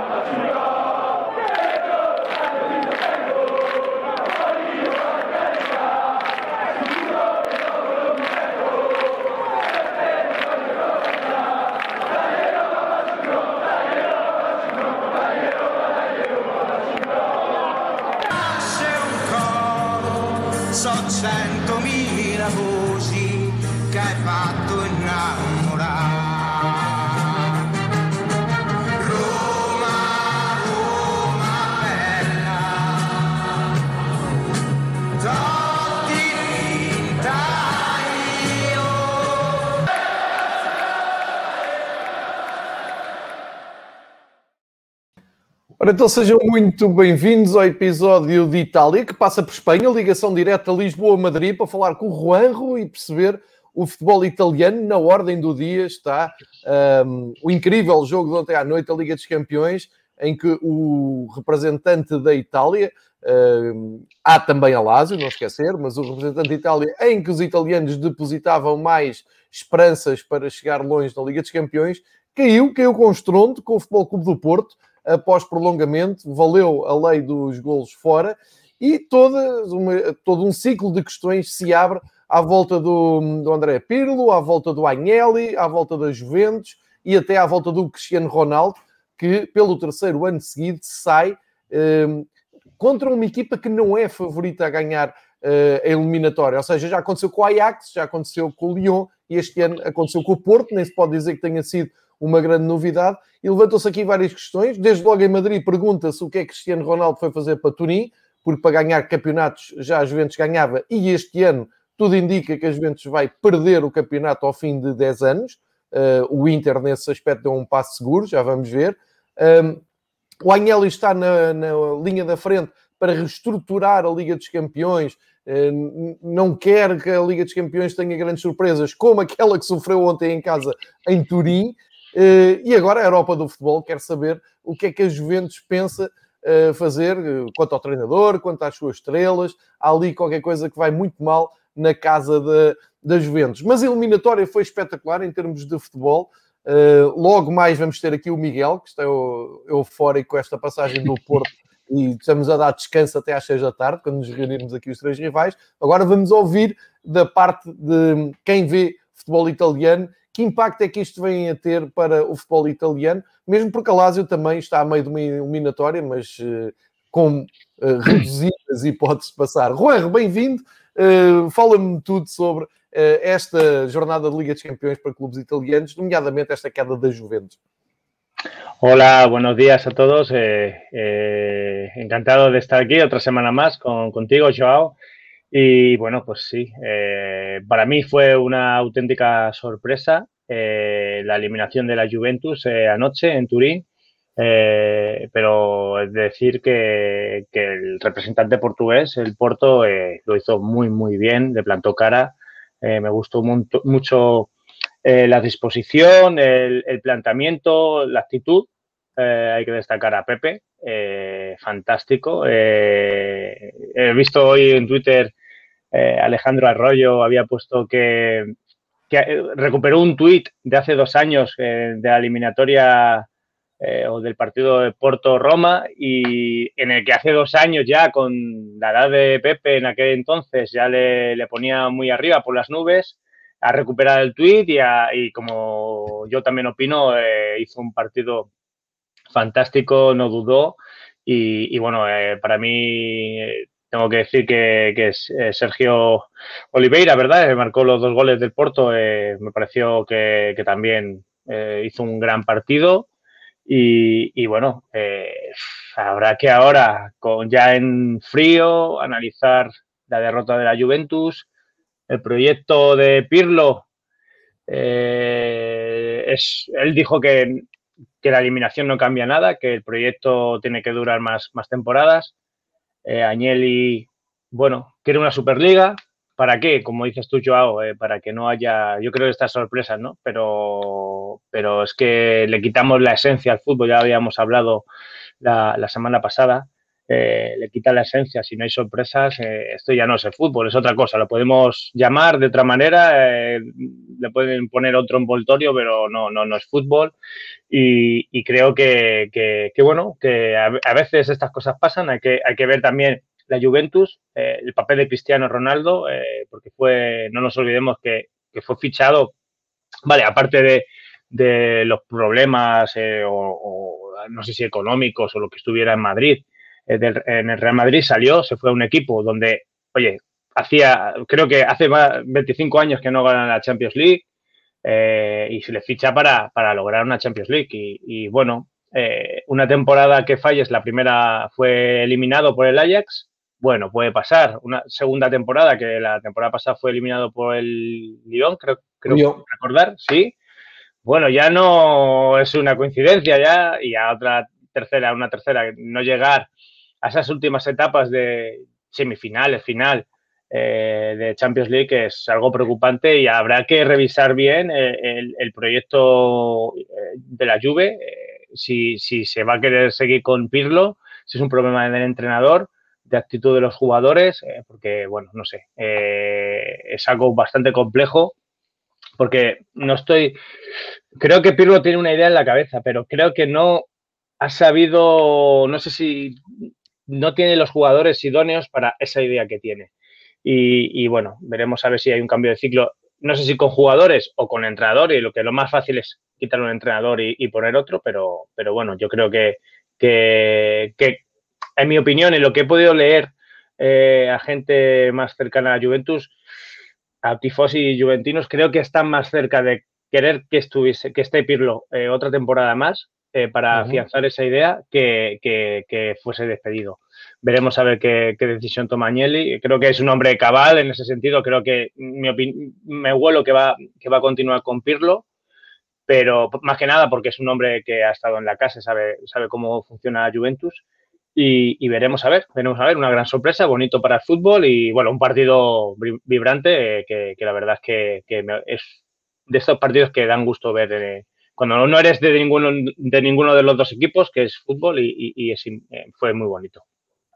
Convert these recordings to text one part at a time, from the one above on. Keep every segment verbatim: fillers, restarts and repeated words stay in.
centomila voci che hai fatto innamorare. Roma, Roma bella, Totti vinta io. Ora, então sejam muito bem-vindos ao episódio de Itália, que passa por Espanha, ligação direta Lisboa-Madrid, para falar com o Juanjo e perceber o futebol italiano. Na ordem do dia está um, o incrível jogo de ontem à noite, a Liga dos Campeões, em que o representante da Itália, um, há também a Lazio, não esquecer, mas o representante da Itália, em que os italianos depositavam mais esperanças para chegar longe na Liga dos Campeões, caiu, caiu com estrondo com o Futebol Clube do Porto, após prolongamento, valeu a lei dos golos fora e toda uma, todo um ciclo de questões se abre à volta do, do André Pirlo, à volta do Agnelli, à volta da Juventus e até à volta do Cristiano Ronaldo, que pelo terceiro ano seguido sai eh, contra uma equipa que não é favorita a ganhar eh, a eliminatória. Ou seja, já aconteceu com o Ajax, já aconteceu com o Lyon e este ano aconteceu com o Porto, nem se pode dizer que tenha sido uma grande novidade, e levantam-se aqui várias questões. Desde logo em Madrid pergunta-se o que é que Cristiano Ronaldo foi fazer para Turim, porque para ganhar campeonatos já a Juventus ganhava, e este ano tudo indica que a Juventus vai perder o campeonato ao fim de dez anos. Uh, o Inter nesse aspecto deu um passo seguro, já vamos ver. Um, o Agnelli está na, na linha da frente para reestruturar a Liga dos Campeões, uh, não quer que a Liga dos Campeões tenha grandes surpresas, como aquela que sofreu ontem em casa em Turim. Uh, e agora a Europa do futebol quer saber o que é que a Juventus pensa uh, fazer uh, quanto ao treinador, quanto às suas estrelas. Há ali qualquer coisa que vai muito mal na casa da, da Juventus. Mas a eliminatória foi espetacular em termos de futebol. Uh, logo mais vamos ter aqui o Miguel, que está eufórico com esta passagem do Porto e estamos a dar descanso até às seis da tarde, quando nos reunirmos aqui os três rivais. Agora vamos ouvir da parte de quem vê futebol italiano. Que impacto é que isto vem a ter para o futebol italiano? Mesmo porque a Lazio também está a meio de uma eliminatória, mas uh, com uh, reduzidas hipóteses de passar. Juanjo, bem-vindo. Uh, fala-me tudo sobre uh, esta jornada de Liga dos Campeões para clubes italianos, nomeadamente esta queda da Juventus. Hola, buenos días a todos. Eh, eh, encantado de estar aquí otra semana más con, contigo, Joao. Y bueno, pues sí, eh, para mí fue una auténtica sorpresa eh, la eliminación de la Juventus eh, anoche en Turín, eh, pero es decir que, que el representante portugués, el Porto, eh, lo hizo muy, muy bien, le plantó cara, eh, me gustó mu mucho eh, la disposición, el, el planteamiento, la actitud. Eh, hay que destacar a Pepe, eh, fantástico. Eh, he visto hoy en Twitter Eh, Alejandro Arroyo había puesto que, que recuperó un tuit de hace dos años eh, de la eliminatoria eh, o del partido de Porto-Roma y en el que hace dos años ya con la edad de Pepe en aquel entonces ya le, le ponía muy arriba por las nubes. Ha recuperado el tuit y, a, y como yo también opino, eh, hizo un partido fantástico, no dudó y, y bueno, eh, para mí... Eh, Tengo que decir que, que es eh, Sergio Oliveira, ¿verdad? Que marcó los dos goles del Porto. Eh, me pareció que, que también eh, hizo un gran partido. Y, y bueno, eh, habrá que ahora, con, ya en frío, analizar la derrota de la Juventus. El proyecto de Pirlo, eh, es, él dijo que, que la eliminación no cambia nada, que el proyecto tiene que durar más, más temporadas. Eh, Agnelli, bueno, quiere una Superliga. ¿Para qué? Como dices tú, Joao, eh, para que no haya, yo creo, estas sorpresas, ¿no? Pero, pero es que le quitamos la esencia al fútbol, ya habíamos hablado la, la semana pasada. eh, le quita la esencia. Si no hay sorpresas, eh, esto ya no es el fútbol, es otra cosa. Lo podemos llamar de otra manera, eh, le pueden poner otro envoltorio, pero no, no, no es fútbol. Y, y creo que, que, que, bueno, que a, a veces estas cosas pasan. Hay que, hay que ver también la Juventus, eh, el papel de Cristiano Ronaldo, eh, porque fue, no nos olvidemos que, que fue fichado, vale, aparte de, de los problemas eh, o, o no sé si económicos o lo que estuviera en Madrid, eh, del, en el Real Madrid salió, se fue a un equipo donde, oye, hacía, creo que hace más, veinticinco años que no ganan la Champions League, eh, y se le ficha para, para lograr una Champions League. Y, y bueno, eh, una temporada que falles, la primera fue eliminado por el Ajax, bueno, puede pasar. Una segunda temporada, que la temporada pasada fue eliminado por el Lyon, creo, creo Lyon. recordar, sí. Bueno, ya no es una coincidencia ya, y a otra tercera, una tercera, no llegar a esas últimas etapas de semifinales, final eh, de Champions League es algo preocupante y habrá que revisar bien el, el, el proyecto de la Juve, eh, si, si se va a querer seguir con Pirlo, si es un problema del entrenador, de actitud de los jugadores, eh, porque, bueno, no sé, eh, es algo bastante complejo, porque no estoy... Creo que Pirlo tiene una idea en la cabeza, pero creo que no ha sabido, no sé si no tiene los jugadores idóneos para esa idea que tiene. Y, y bueno, veremos a ver si hay un cambio de ciclo, no sé si con jugadores o con entrenador, y lo que lo más fácil es quitar un entrenador y, y poner otro, pero, pero bueno, yo creo que, que, que en mi opinión, en lo que he podido leer eh, a gente más cercana a la Juventus, a tifosi juventinos, creo que están más cerca de querer que estuviese, que esté Pirlo eh, otra temporada más eh, para uh-huh. afianzar esa idea que, que, que fuese despedido. Veremos a ver qué, qué decisión toma Agnelli. Creo que es un hombre cabal en ese sentido. Creo que mi opin- me huelo que va, que va a continuar con Pirlo, pero más que nada porque es un hombre que ha estado en la casa, sabe, sabe cómo funciona la Juventus. Y, y veremos a ver, veremos a ver, una gran sorpresa, bonito para el fútbol y bueno, un partido vibrante eh, que, que la verdad es que, que me, es de estos partidos que dan gusto ver eh, cuando no eres de ninguno de ninguno de los dos equipos, que es fútbol y, y, y es, eh, fue muy bonito.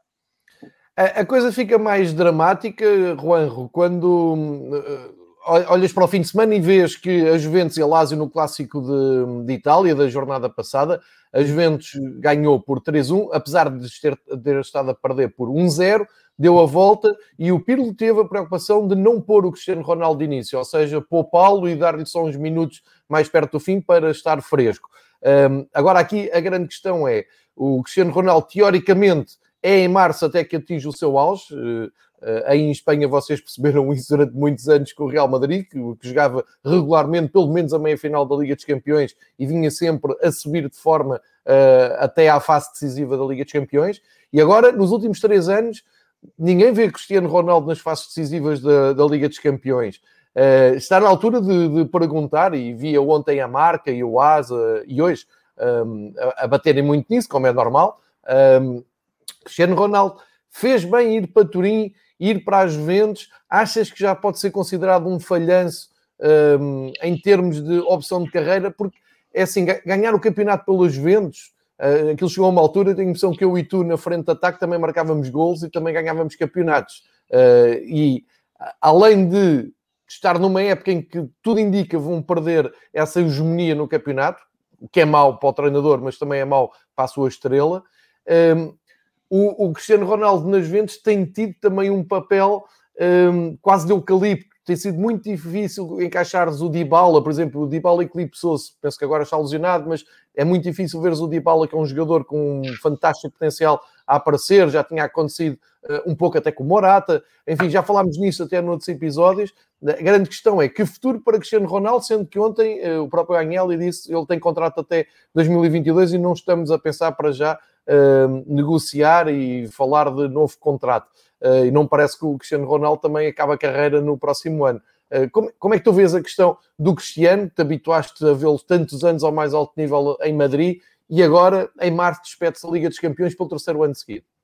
A, a coisa fica mais dramática, Juanjo, quando uh, olhas para o fim de semana e vês que a Juventus e a Lazio no clássico de, de Itália da jornada passada, a Juventus ganhou por três a um, apesar de ter, de ter estado a perder por um zero, deu a volta e o Pirlo teve a preocupação de não pôr o Cristiano Ronaldo de início, ou seja, poupá-lo e dar-lhe só uns minutos mais perto do fim para estar fresco. Um, agora aqui a grande questão é, o Cristiano Ronaldo teoricamente é em março até que atinge o seu auge. Uh, aí em Espanha vocês perceberam isso durante muitos anos com o Real Madrid, que, que jogava regularmente pelo menos a meia-final da Liga dos Campeões e vinha sempre a subir de forma uh, até à fase decisiva da Liga dos Campeões. E agora, nos últimos três anos, ninguém vê Cristiano Ronaldo nas fases decisivas da, da Liga dos Campeões. Uh, está na altura de, de perguntar, e via ontem a Marca e o Asa, e hoje, um, a, a baterem muito nisso, como é normal. Um, Cristiano Ronaldo fez bem ir para Turim, ir para as Juventus. Achas que já pode ser considerado um falhanço um, em termos de opção de carreira? Porque, é assim, ganhar o campeonato pelas Juventus, uh, aquilo chegou a uma altura, tenho a impressão que eu e tu, na frente de ataque, também marcávamos golos e também ganhávamos campeonatos. Uh, e, além de estar numa época em que tudo indica vão perder essa hegemonia no campeonato, o que é mau para o treinador, mas também é mau para a sua estrela, um, O, o Cristiano Ronaldo nas Juventus tem tido também um papel um, quase de eucalipto. Tem sido muito difícil encaixares o Dybala, por exemplo. O Dybala eclipsou-se, penso que agora está lesionado, mas é muito difícil veres o Dybala, que é um jogador com um fantástico potencial a aparecer. Já tinha acontecido uh, um pouco até com o Morata. Enfim, já falámos nisso até noutros episódios. A grande questão é que futuro para Cristiano Ronaldo, sendo que ontem uh, o próprio Agnelli disse que ele tem contrato até dois mil e vinte e dois e não estamos a pensar para já Uh, negociar e falar de novo contrato. Uh, e não parece que o Cristiano Ronaldo também acaba a carreira no próximo ano. Uh, como, como é que tu vês a questão do Cristiano? Te habituaste a vê-lo tantos anos ao mais alto nível em Madrid e agora, em março, despede-se a Liga dos Campeões pelo terceiro ano seguido.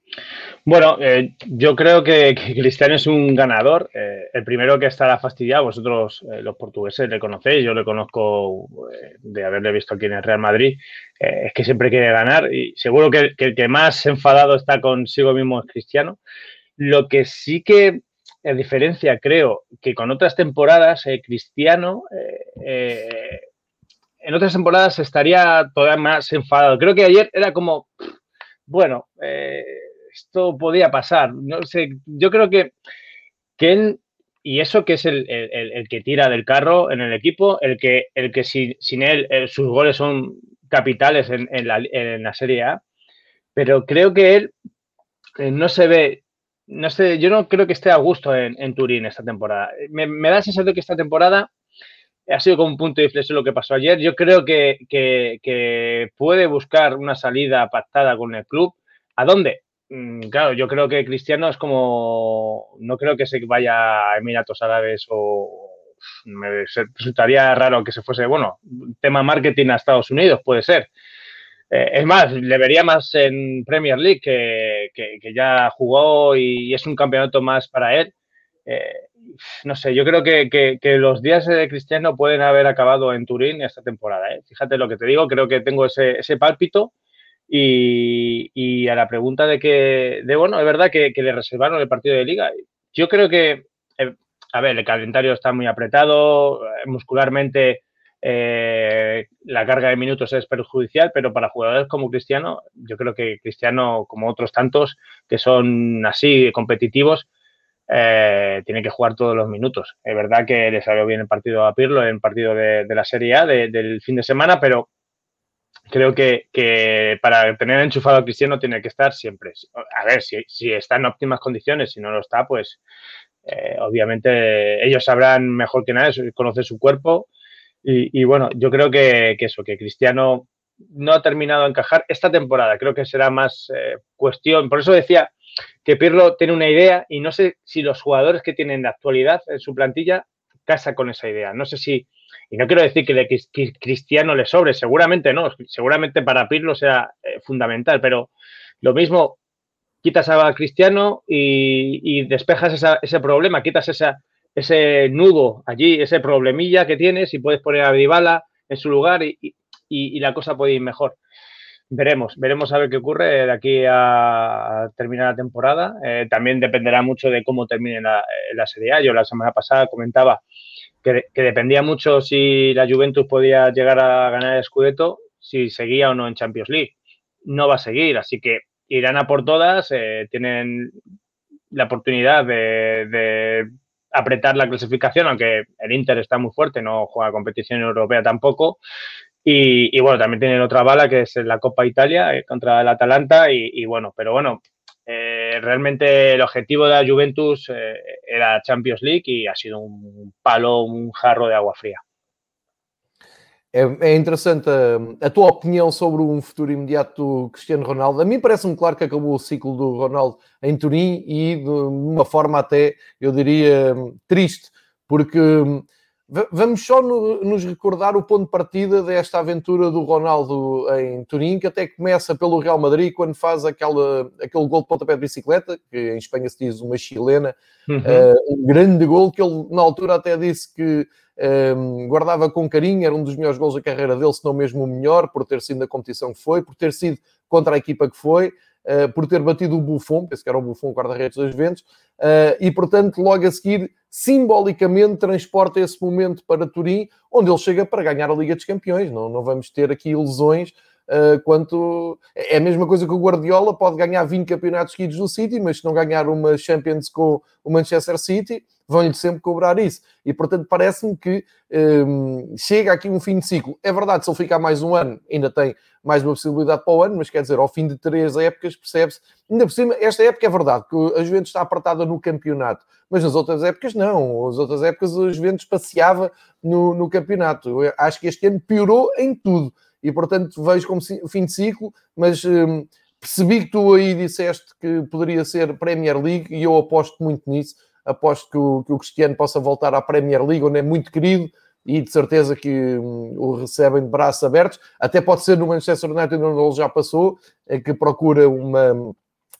Bueno, eh, yo creo que, que Cristiano es un ganador. Eh, el primero que estará fastidiado, vosotros eh, los portugueses le conocéis, yo le conozco eh, de haberle visto aquí en el Real Madrid, eh, es que siempre quiere ganar y seguro que, que el que más enfadado está consigo mismo es Cristiano. Lo que sí que a diferencia, creo, que con otras temporadas, eh, Cristiano, eh, eh, en otras temporadas estaría todavía más enfadado. Creo que ayer era como, bueno, eh, esto podía pasar. No sé, yo creo que, que él, y eso que es el, el, el que tira del carro en el equipo, el que, el que sin, sin él eh, sus goles son capitales en, en, la, en la Serie A, pero creo que él eh, no se ve, no sé, yo no creo que esté a gusto en, en Turín esta temporada. Me, me da la sensación de que esta temporada ha sido como un punto de inflexión lo que pasó ayer. Yo creo que, que, que puede buscar una salida pactada con el club. ¿A dónde? Mm, claro, yo creo que Cristiano es como, no creo que se vaya a Emiratos Árabes o me resultaría raro que se fuese, bueno, tema marketing a Estados Unidos, puede ser. Eh, es más, le vería más en Premier League, que, que, que ya jugó y es un campeonato más para él. Eh, no sé, yo creo que, que, que, los días de Cristiano pueden haber acabado en Turín esta temporada. ¿eh? Fíjate lo que te digo, creo que tengo ese, ese pálpito. Y, y a la pregunta de que, de bueno, es verdad que, que le reservaron el partido de Liga. Yo creo que, eh, a ver, el calendario está muy apretado, muscularmente. Eh, la carga de minutos es perjudicial, pero para jugadores como Cristiano, yo creo que Cristiano, como otros tantos que son así competitivos, eh, tiene que jugar todos los minutos. Es verdad que le salió bien el partido a Pirlo, el partido de, de la Serie A de, del fin de semana, pero creo que, que para tener enchufado a Cristiano tiene que estar siempre. A ver, si, si está en óptimas condiciones, si no lo está, pues eh, obviamente ellos sabrán mejor que nadie, conocen su cuerpo. Y, y bueno, yo creo que, que eso, que Cristiano no ha terminado de encajar esta temporada. Creo que será más eh, cuestión. Por eso decía que Pirlo tiene una idea y no sé si los jugadores que tienen de actualidad en su plantilla casa con esa idea. No sé si, y no quiero decir que, le, que Cristiano le sobre, seguramente no, seguramente para Pirlo sea eh, fundamental, pero lo mismo, quitas a Cristiano y, y despejas esa, ese problema, quitas esa ese nudo allí, ese problemilla que tienes y puedes poner a Dybala en su lugar y, y, y la cosa puede ir mejor. Veremos, veremos a ver qué ocurre de aquí a terminar la temporada. Eh, también dependerá mucho de cómo termine la, la Serie A. Yo la semana pasada comentaba que, que dependía mucho si la Juventus podía llegar a ganar el Scudetto, si seguía o no en Champions League. No va a seguir, así que irán a por todas, eh, tienen la oportunidad de, de apretar la clasificación, aunque el Inter está muy fuerte, no juega competición europea tampoco. Y, y bueno, también tienen otra bala que es la Copa Italia eh, contra el Atalanta. Y, y bueno, pero bueno, eh, realmente el objetivo de la Juventus eh, era Champions League y ha sido un palo, un jarro de agua fría. É, é interessante a, a tua opinião sobre um futuro imediato do Cristiano Ronaldo. A mim parece-me claro que acabou o ciclo do Ronaldo em Turim e de uma forma até, eu diria, triste, porque vamos só no, nos recordar o ponto de partida desta aventura do Ronaldo em Turim, que até começa pelo Real Madrid, quando faz aquela, aquele gol de pontapé de bicicleta, que em Espanha se diz uma chilena, uhum. uh, um grande gol, que ele na altura até disse que um, guardava com carinho, era um dos melhores gols da carreira dele, se não mesmo o melhor, por ter sido na competição que foi, por ter sido contra a equipa que foi, Uh, por ter batido o Buffon, penso que era o Buffon, o guarda-redes dos Juventus, uh, e portanto logo a seguir simbolicamente transporta esse momento para Turim, onde ele chega para ganhar a Liga dos Campeões. Não, não vamos ter aqui ilusões uh, quanto... É a mesma coisa que o Guardiola, pode ganhar vinte campeonatos seguidos do City, mas se não ganhar uma Champions com o Manchester City, vão-lhe sempre cobrar isso. E portanto parece-me que um, chega aqui um fim de ciclo. É verdade, se ele ficar mais um ano, ainda tem mais uma possibilidade para o ano, mas quer dizer, ao fim de três épocas, percebe-se, ainda por cima, esta época é verdade, que a Juventus está apertada no campeonato, mas nas outras épocas não, nas outras épocas a Juventus passeava no, no campeonato. Eu acho que este ano piorou em tudo, e portanto vejo como fim de ciclo, mas hum, percebi que tu aí disseste que poderia ser Premier League, e eu aposto muito nisso, aposto que o, que o Cristiano possa voltar à Premier League, onde é muito querido, e de certeza que hum, o recebem de braços abertos. Até pode ser no Manchester United, onde ele já passou, que procura uma,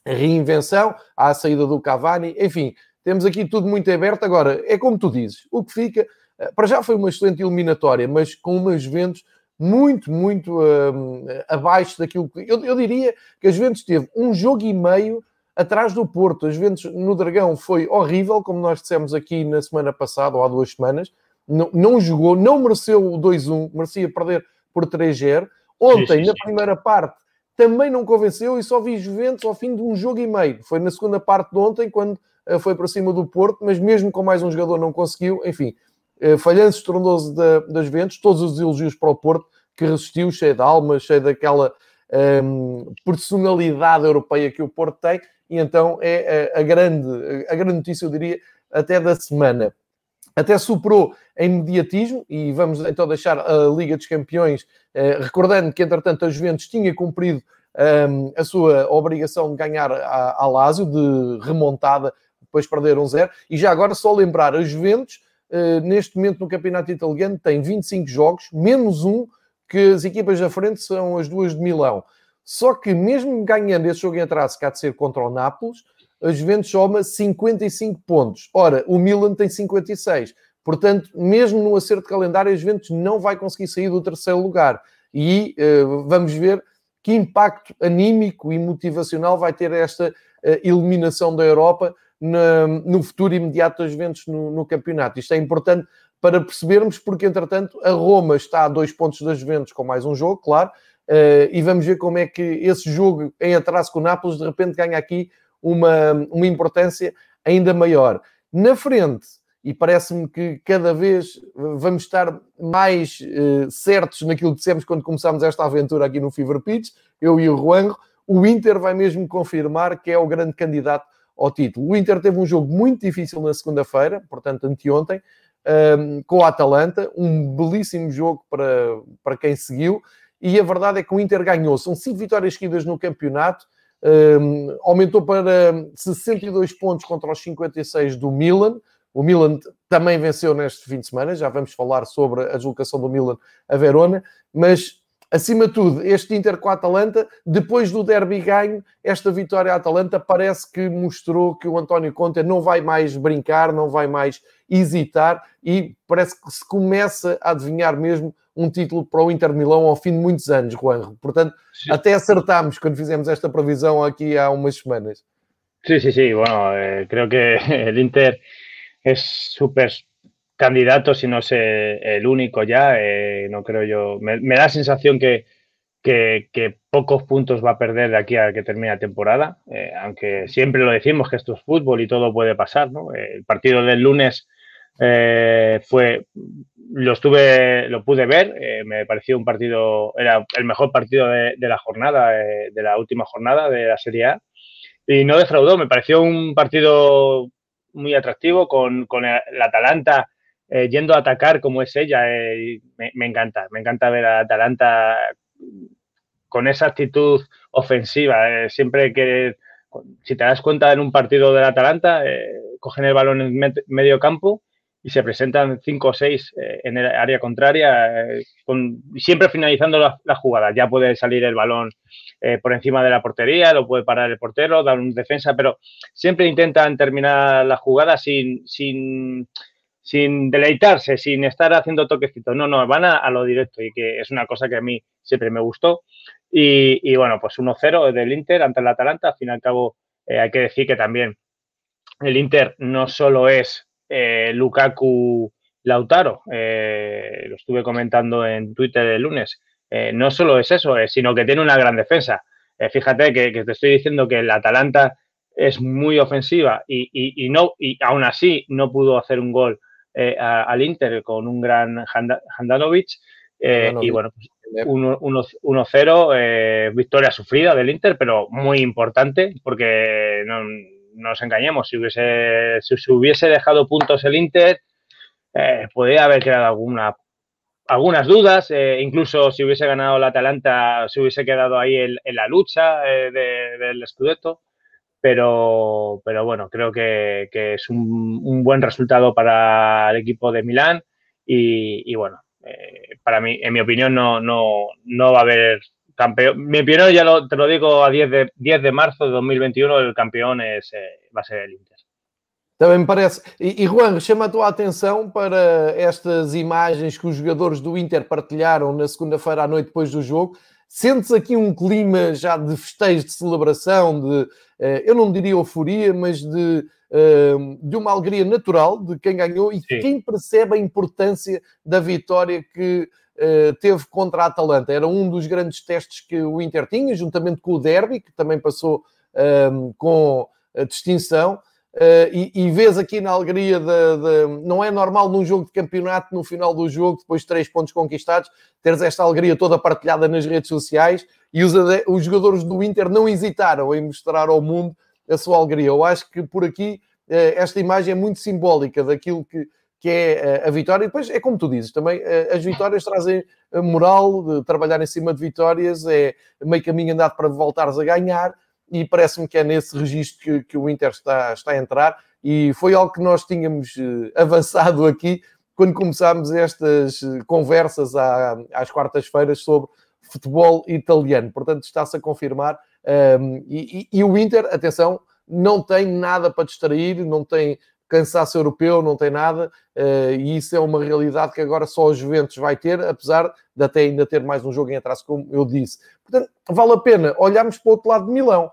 a reinvenção, há a saída do Cavani, enfim, temos aqui tudo muito aberto. Agora, é como tu dizes, o que fica, para já foi uma excelente eliminatória, mas com uma Juventus muito, muito um, abaixo daquilo que... Eu, eu diria que a Juventus teve um jogo e meio atrás do Porto. A Juventus no Dragão foi horrível, como nós dissemos aqui na semana passada, ou há duas semanas. Não, não jogou, não mereceu o dois a um, merecia perder por três a zero. Ontem, sim, sim, sim. Na primeira parte, também não convenceu e só vi Juventus ao fim de um jogo e meio. Foi na segunda parte de ontem, quando uh, foi para cima do Porto, mas mesmo com mais um jogador não conseguiu. Enfim, uh, falhanço estrondoso da, da Juventus, todos os elogios para o Porto, que resistiu, cheio de alma, cheio daquela um, personalidade europeia que o Porto tem. E então é a, a, grande, a grande notícia, eu diria, até da semana. Até superou em mediatismo, e vamos então deixar a Liga dos Campeões, eh, recordando que, entretanto, a Juventus tinha cumprido um, a sua obrigação de ganhar a, a Lazio, de remontada, depois perder um zero. E já agora, só lembrar, a Juventus, eh, neste momento no campeonato italiano, tem vinte e cinco jogos, menos um, que as equipas da frente são as duas de Milão. Só que, mesmo ganhando esse jogo em atraso, que há de ser contra o Nápoles, a Juventus soma cinquenta e cinco pontos. Ora, o Milan tem cinquenta e seis. Portanto, mesmo no acerto de calendário, a Juventus não vai conseguir sair do terceiro lugar. E uh, vamos ver que impacto anímico e motivacional vai ter esta uh, eliminação da Europa na, no futuro imediato das Juventus no, no campeonato. Isto é importante para percebermos, porque, entretanto, a Roma está a dois pontos das Juventus com mais um jogo, claro, uh, e vamos ver como é que esse jogo em atraso com o Nápoles, de repente, ganha aqui Uma, uma importância ainda maior. Na frente, e parece-me que cada vez vamos estar mais uh, certos naquilo que dissemos quando começámos esta aventura aqui no Fever Pitch, eu e o Juanjo, o Inter vai mesmo confirmar que é o grande candidato ao título. O Inter teve um jogo muito difícil na segunda-feira, portanto anteontem, um, com o Atalanta, um belíssimo jogo para, para quem seguiu, e a verdade é que o Inter ganhou. São cinco vitórias seguidas no campeonato, Um, aumentou para sessenta e dois pontos contra os cinquenta e seis do Milan. O Milan também venceu neste fim de semana, já vamos falar sobre a deslocação do Milan a Verona, mas acima de tudo, este Inter com a Atalanta, depois do derby ganho, esta vitória à Atalanta parece que mostrou que o António Conte não vai mais brincar, não vai mais hesitar, e parece que se começa a adivinhar mesmo um título para o Inter Milão ao fim de muitos anos, Juanjo. Portanto, sí, até acertámos quando fizemos esta previsão aqui há umas semanas. Sí, sí, sí. Bueno, eh, creo que el Inter es súper candidato, si no es el único ya. Eh, no creo yo. Me, me da la sensación que, que, que pocos puntos va a perder de aquí a que termine la temporada. Eh, aunque siempre lo decimos que esto es fútbol y todo puede pasar, ¿no? Eh, el partido del lunes eh, fue... Lo estuve, lo pude ver, eh, me pareció un partido, era el mejor partido de, de la jornada, eh, de la última jornada de la Serie A, y no defraudó, me pareció un partido muy atractivo, con, con el, el Atalanta eh, yendo a atacar como es ella, eh, me, me encanta, me encanta ver a Atalanta con esa actitud ofensiva, eh, siempre que, si te das cuenta en un partido del Atalanta, eh, cogen el balón en med, medio campo, y se presentan cinco o seis eh, en el área contraria, eh, con, siempre finalizando las la jugadas. Ya puede salir el balón eh, por encima de la portería, lo puede parar el portero, dar un defensa, pero siempre intentan terminar la jugada sin, sin, sin deleitarse, sin estar haciendo toquecitos. No, no, van a, a lo directo, y que es una cosa que a mí siempre me gustó. Y, y bueno, pues uno cero del Inter ante el Atalanta. Al fin y al cabo, eh, hay que decir que también el Inter no solo es Eh, Lukaku Lautaro, eh, lo estuve comentando en Twitter el lunes, eh, no solo es eso, eh, sino que tiene una gran defensa. Eh, fíjate que, que te estoy diciendo que el Atalanta es muy ofensiva y, y, y, no, y aún así no pudo hacer un gol eh, a, al Inter con un gran Handanovic, eh, y bueno, pues uno cero, eh, victoria sufrida del Inter, pero muy importante, porque no, no nos engañemos, si hubiese, si se hubiese dejado puntos el Inter, eh, podría haber quedado alguna, algunas dudas, eh, incluso si hubiese ganado el Atalanta, se hubiese quedado ahí en, en la lucha eh, de, del Scudetto, pero, pero bueno, creo que, que es un, un buen resultado para el equipo de Milán y, y bueno, eh, para mí, en mi opinión, no, no, no va a haber campeón, mi opinión ya lo, te lo digo a diez de, diez de marzo de dos mil veintiuno, el campeón es, eh, va a ser el Inter. Também me parece. E, e Juan, chama a tua atenção para estas imagens que os jogadores do Inter partilharam na segunda-feira à noite depois do jogo. Sentes aqui um clima já de festejo, de celebração, de, eu não diria euforia, mas de, de uma alegria natural de quem ganhou e de quem percebe a importância da vitória que teve contra a Atalanta. Era um dos grandes testes que o Inter tinha, juntamente com o derby, que também passou com a distinção. Uh, e, e vês aqui na alegria de, de... Não é normal num jogo de campeonato, no final do jogo, depois de três pontos conquistados, teres esta alegria toda partilhada nas redes sociais, e os, os jogadores do Inter não hesitaram em mostrar ao mundo a sua alegria. Eu acho que por aqui uh, esta imagem é muito simbólica daquilo que, que é uh, a vitória. E depois é como tu dizes, também uh, as vitórias trazem a moral de trabalhar em cima de vitórias, é meio caminho andado para voltares a ganhar. E parece-me que é nesse registro que, que o Inter está, está a entrar, e foi algo que nós tínhamos uh, avançado aqui quando começámos estas conversas à, às quartas-feiras sobre futebol italiano. Portanto, está-se a confirmar. Um, e, e, e o Inter, atenção, não tem nada para distrair, não tem cansaço europeu, não tem nada, uh, e isso é uma realidade que agora só o Juventus vai ter, apesar de até ainda ter mais um jogo em atraso, como eu disse. Portanto, vale a pena olharmos para o outro lado de Milão.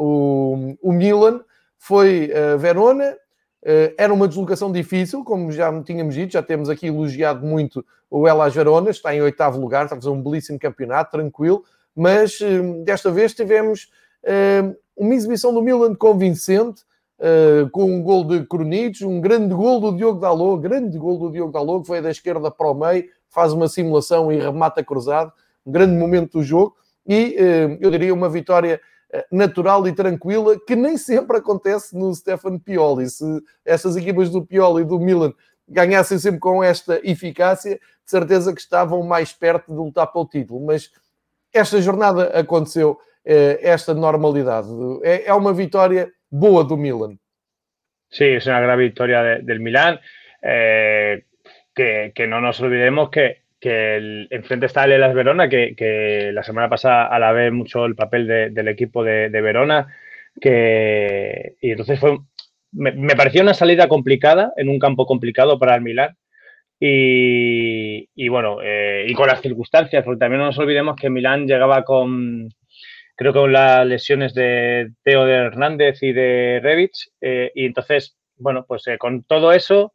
O, o Milan foi a Verona, uh, era uma deslocação difícil, como já tínhamos dito, já temos aqui elogiado muito o Hellas Verona, está em oitavo lugar, está a fazer um belíssimo campeonato, tranquilo, mas uh, desta vez tivemos uh, uma exibição do Milan convincente, uh, com um gol de Krunic, um grande gol do Diogo Dalot, grande gol do Diogo Dalot, que veio da esquerda para o meio, faz uma simulação e remata cruzado, um grande momento do jogo, e uh, eu diria uma vitória natural e tranquila, que nem sempre acontece no Stefano Pioli. Se estas equipas do Pioli e do Milan ganhassem sempre com esta eficácia, de certeza que estavam mais perto de lutar pelo título. Mas esta jornada aconteceu esta normalidade. É uma vitória boa do Milan. Sí, es una gran victoria de, del Milán. Eh, que, que no nos olvidemos que que el, enfrente está el Hellas Verona, que, que la semana pasada alabé mucho el papel de, del equipo de, de Verona, que, y entonces fue, me, me pareció una salida complicada, en un campo complicado para el Milán, y, y bueno, eh, y con las circunstancias, porque también no nos olvidemos que Milán llegaba con, creo que con las lesiones de Teo de Hernández y de Rebic, eh, y entonces, bueno, pues eh, con todo eso,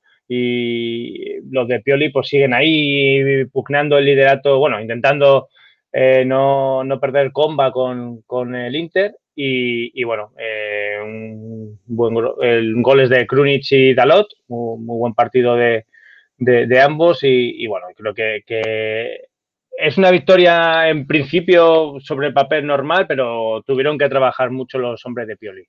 y los de Pioli pues siguen ahí pugnando el liderato, bueno, intentando eh, no, no perder comba con, con el Inter y, y bueno, eh, un buen el goles de Krunic y Dalot, muy, muy buen partido de, de, de ambos y, y bueno, creo que, que es una victoria en principio sobre el papel normal, pero tuvieron que trabajar mucho los hombres de Pioli.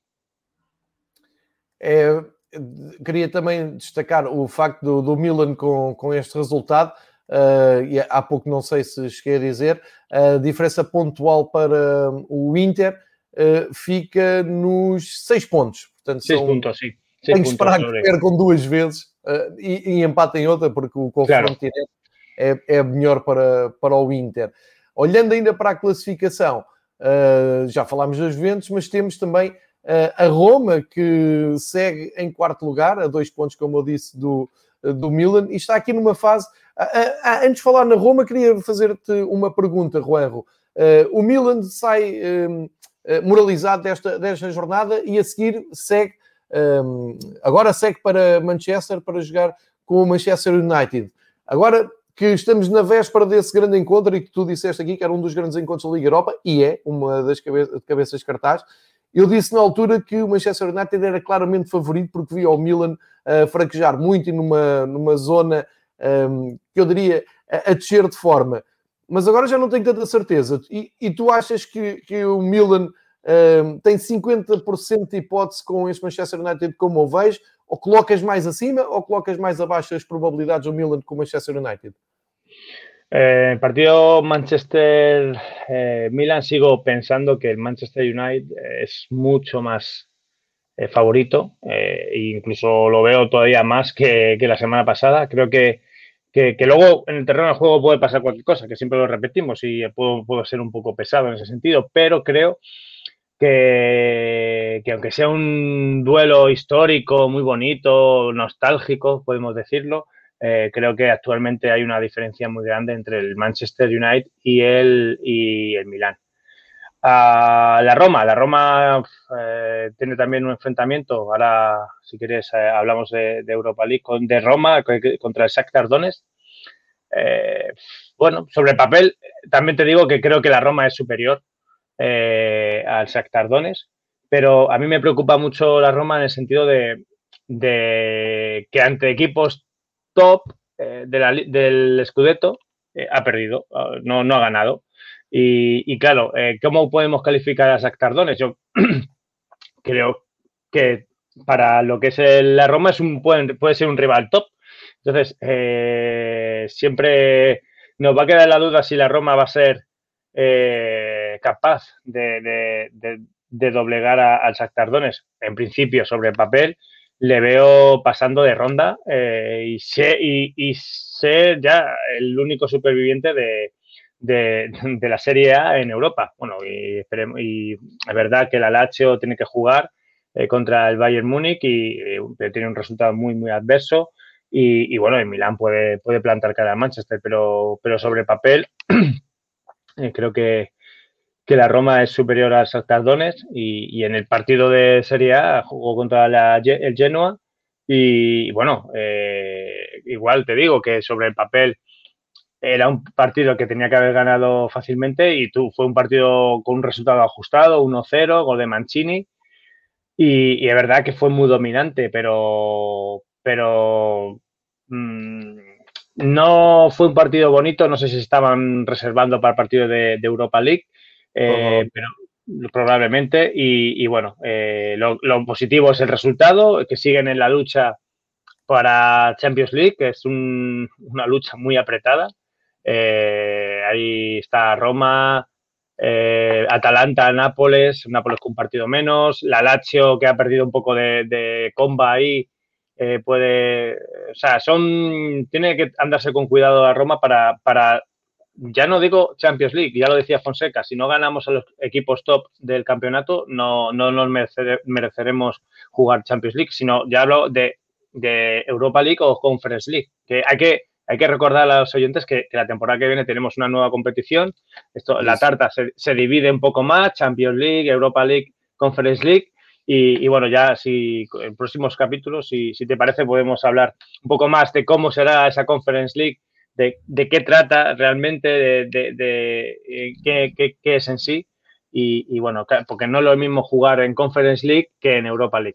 Eh... Queria também destacar o facto do, do Milan com, com este resultado, uh, e há pouco não sei se cheguei a dizer, a diferença pontual para o Inter uh, fica nos seis pontos. Portanto, seis são, pontos, sim. Tem que esperar que percam duas vezes uh, e, e empatem outra, porque o confronto claro. direto é, é melhor para, para o Inter. Olhando ainda para a classificação, uh, já falámos das Juventus, mas temos também a Roma, que segue em quarto lugar, a dois pontos, como eu disse, do, do Milan, e está aqui numa fase... Antes de falar na Roma, queria fazer-te uma pergunta, Juanjo. O Milan sai moralizado desta, desta jornada e a seguir segue, agora segue para Manchester para jogar com o Manchester United. Agora que estamos na véspera desse grande encontro e que tu disseste aqui que era um dos grandes encontros da Liga Europa, e é uma das cabe- cabeças de cartaz. Eu disse na altura que o Manchester United era claramente favorito porque via o Milan uh, fraquejar muito e numa, numa zona um, que eu diria a, a descer de forma. Mas agora já não tenho tanta certeza. E, e tu achas que, que o Milan um, tem cinquenta por cento de hipótese com este Manchester United como o vejo? Ou colocas mais acima ou colocas mais abaixo as probabilidades do Milan com o Manchester United? Eh, partido Manchester-Milan, eh, sigo pensando que el Manchester United es mucho más eh, favorito, eh, e incluso lo veo todavía más que, que la semana pasada. Creo que, que, que luego en el terreno de juego puede pasar cualquier cosa, que siempre lo repetimos y puedo, puedo ser un poco pesado en ese sentido, pero creo que, que aunque sea un duelo histórico, muy bonito, nostálgico, podemos decirlo, eh, creo que actualmente hay una diferencia muy grande entre el Manchester United y el, y el Milán. Uh, la Roma, la Roma eh, tiene también un enfrentamiento, ahora si quieres eh, hablamos de, de Europa League, con, de Roma contra el Shakhtar Donetsk. Eh, bueno, sobre el papel también te digo que creo que la Roma es superior eh, al Shakhtar Donetsk, pero a mí me preocupa mucho la Roma en el sentido de, de que ante equipos top eh, de la, del Scudetto eh, ha perdido, no, no ha ganado. Y, y claro, eh, ¿cómo podemos calificar a Shakhtar Donetsk? Yo creo que para lo que es el, la Roma es un, puede, puede ser un rival top. Entonces, eh, siempre nos va a quedar la duda si la Roma va a ser eh, capaz de, de, de, de doblegar a, al Shakhtar Donetsk. En principio, sobre el papel, le veo pasando de ronda eh, y, sé, y, y ser ya el único superviviente de, de, de la Serie A en Europa. Bueno, y, esperemos, y es verdad que el Lazio tiene que jugar eh, contra el Bayern Múnich y eh, tiene un resultado muy, muy adverso. Y, y bueno, el Milán puede, puede plantar cara al Manchester, pero, pero sobre papel eh, creo que, que la Roma es superior al Shakhtar Donetsk y, y en el partido de Serie A jugó contra la, el Genoa y, y bueno, eh, igual te digo que sobre el papel era un partido que tenía que haber ganado fácilmente y tú fue un partido con un resultado ajustado, uno cero, gol de Mancini y, y es verdad que fue muy dominante, pero, pero mmm, no fue un partido bonito, no sé si estaban reservando para el partido de, de Europa League, eh, pero probablemente y, y bueno, eh, lo, lo positivo es el resultado, que siguen en la lucha para Champions League, que es un, una lucha muy apretada. Eh, ahí está Roma, eh, Atalanta, Nápoles, Nápoles con un partido menos, la Lazio que ha perdido un poco de, de comba ahí, eh, puede, o sea, son, tiene que andarse con cuidado a Roma para, para, ya no digo Champions League, ya lo decía Fonseca, si no ganamos a los equipos top del campeonato, no, no nos merecer, mereceremos jugar Champions League, sino ya hablo de, de Europa League o Conference League, que hay que Hay que recordar a los oyentes que, que la temporada que viene tenemos una nueva competición. Esto, yes. La tarta se, se divide un poco más, Champions League, Europa League, Conference League. Y, y bueno, ya si en próximos capítulos, si, si te parece, podemos hablar un poco más de cómo será esa Conference League, de, de qué trata realmente, de, de, de, de qué, qué, qué es en sí. Y, y bueno, porque no es lo mismo jugar en Conference League que en Europa League.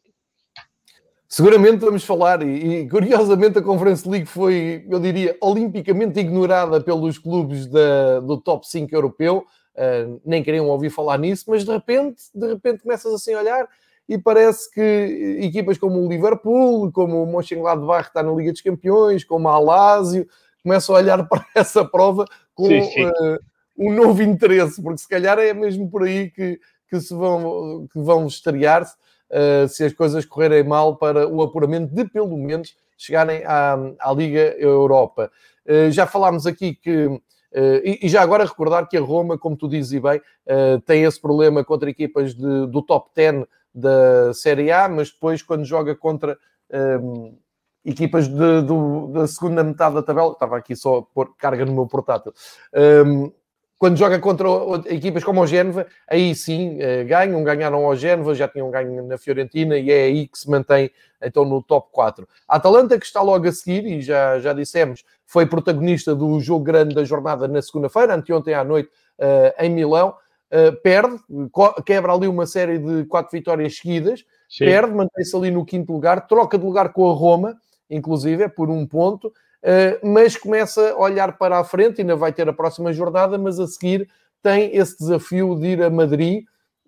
Seguramente vamos falar, e, e curiosamente a Conference League foi, eu diria, olimpicamente ignorada pelos clubes da, do top cinco europeu, uh, nem queriam ouvir falar nisso, mas de repente, de repente começas assim a olhar e parece que equipas como o Liverpool, como o Mönchengladbach que está na Liga dos Campeões, como a Lazio, começam a olhar para essa prova com sim, sim. Uh, um novo interesse, porque se calhar é mesmo por aí que, que, se vão, que vão estrear-se. Uh, se as coisas correrem mal para o apuramento de pelo menos chegarem à, à Liga Europa. Uh, já falámos aqui que, uh, e, e já agora recordar que a Roma, como tu dizes bem, uh, tem esse problema contra equipas de, do top dez da Série A, mas depois quando joga contra um, equipas de, do, da segunda metade da tabela, estava aqui só a pôr carga no meu portátil, um, quando joga contra equipas como o Génova, aí sim ganham, ganharam ao Génova, já tinham ganho na Fiorentina e é aí que se mantém então no top quatro. A Atalanta, que está logo a seguir, e já, já dissemos, foi protagonista do jogo grande da jornada na segunda-feira, anteontem à noite, uh, em Milão, uh, perde, quebra ali uma série de quatro vitórias seguidas, sim. Perde, mantém-se ali no quinto lugar, troca de lugar com a Roma, inclusive, é por um ponto, Uh, mas começa a olhar para a frente, ainda vai ter a próxima jornada, mas a seguir tem esse desafio de ir a Madrid,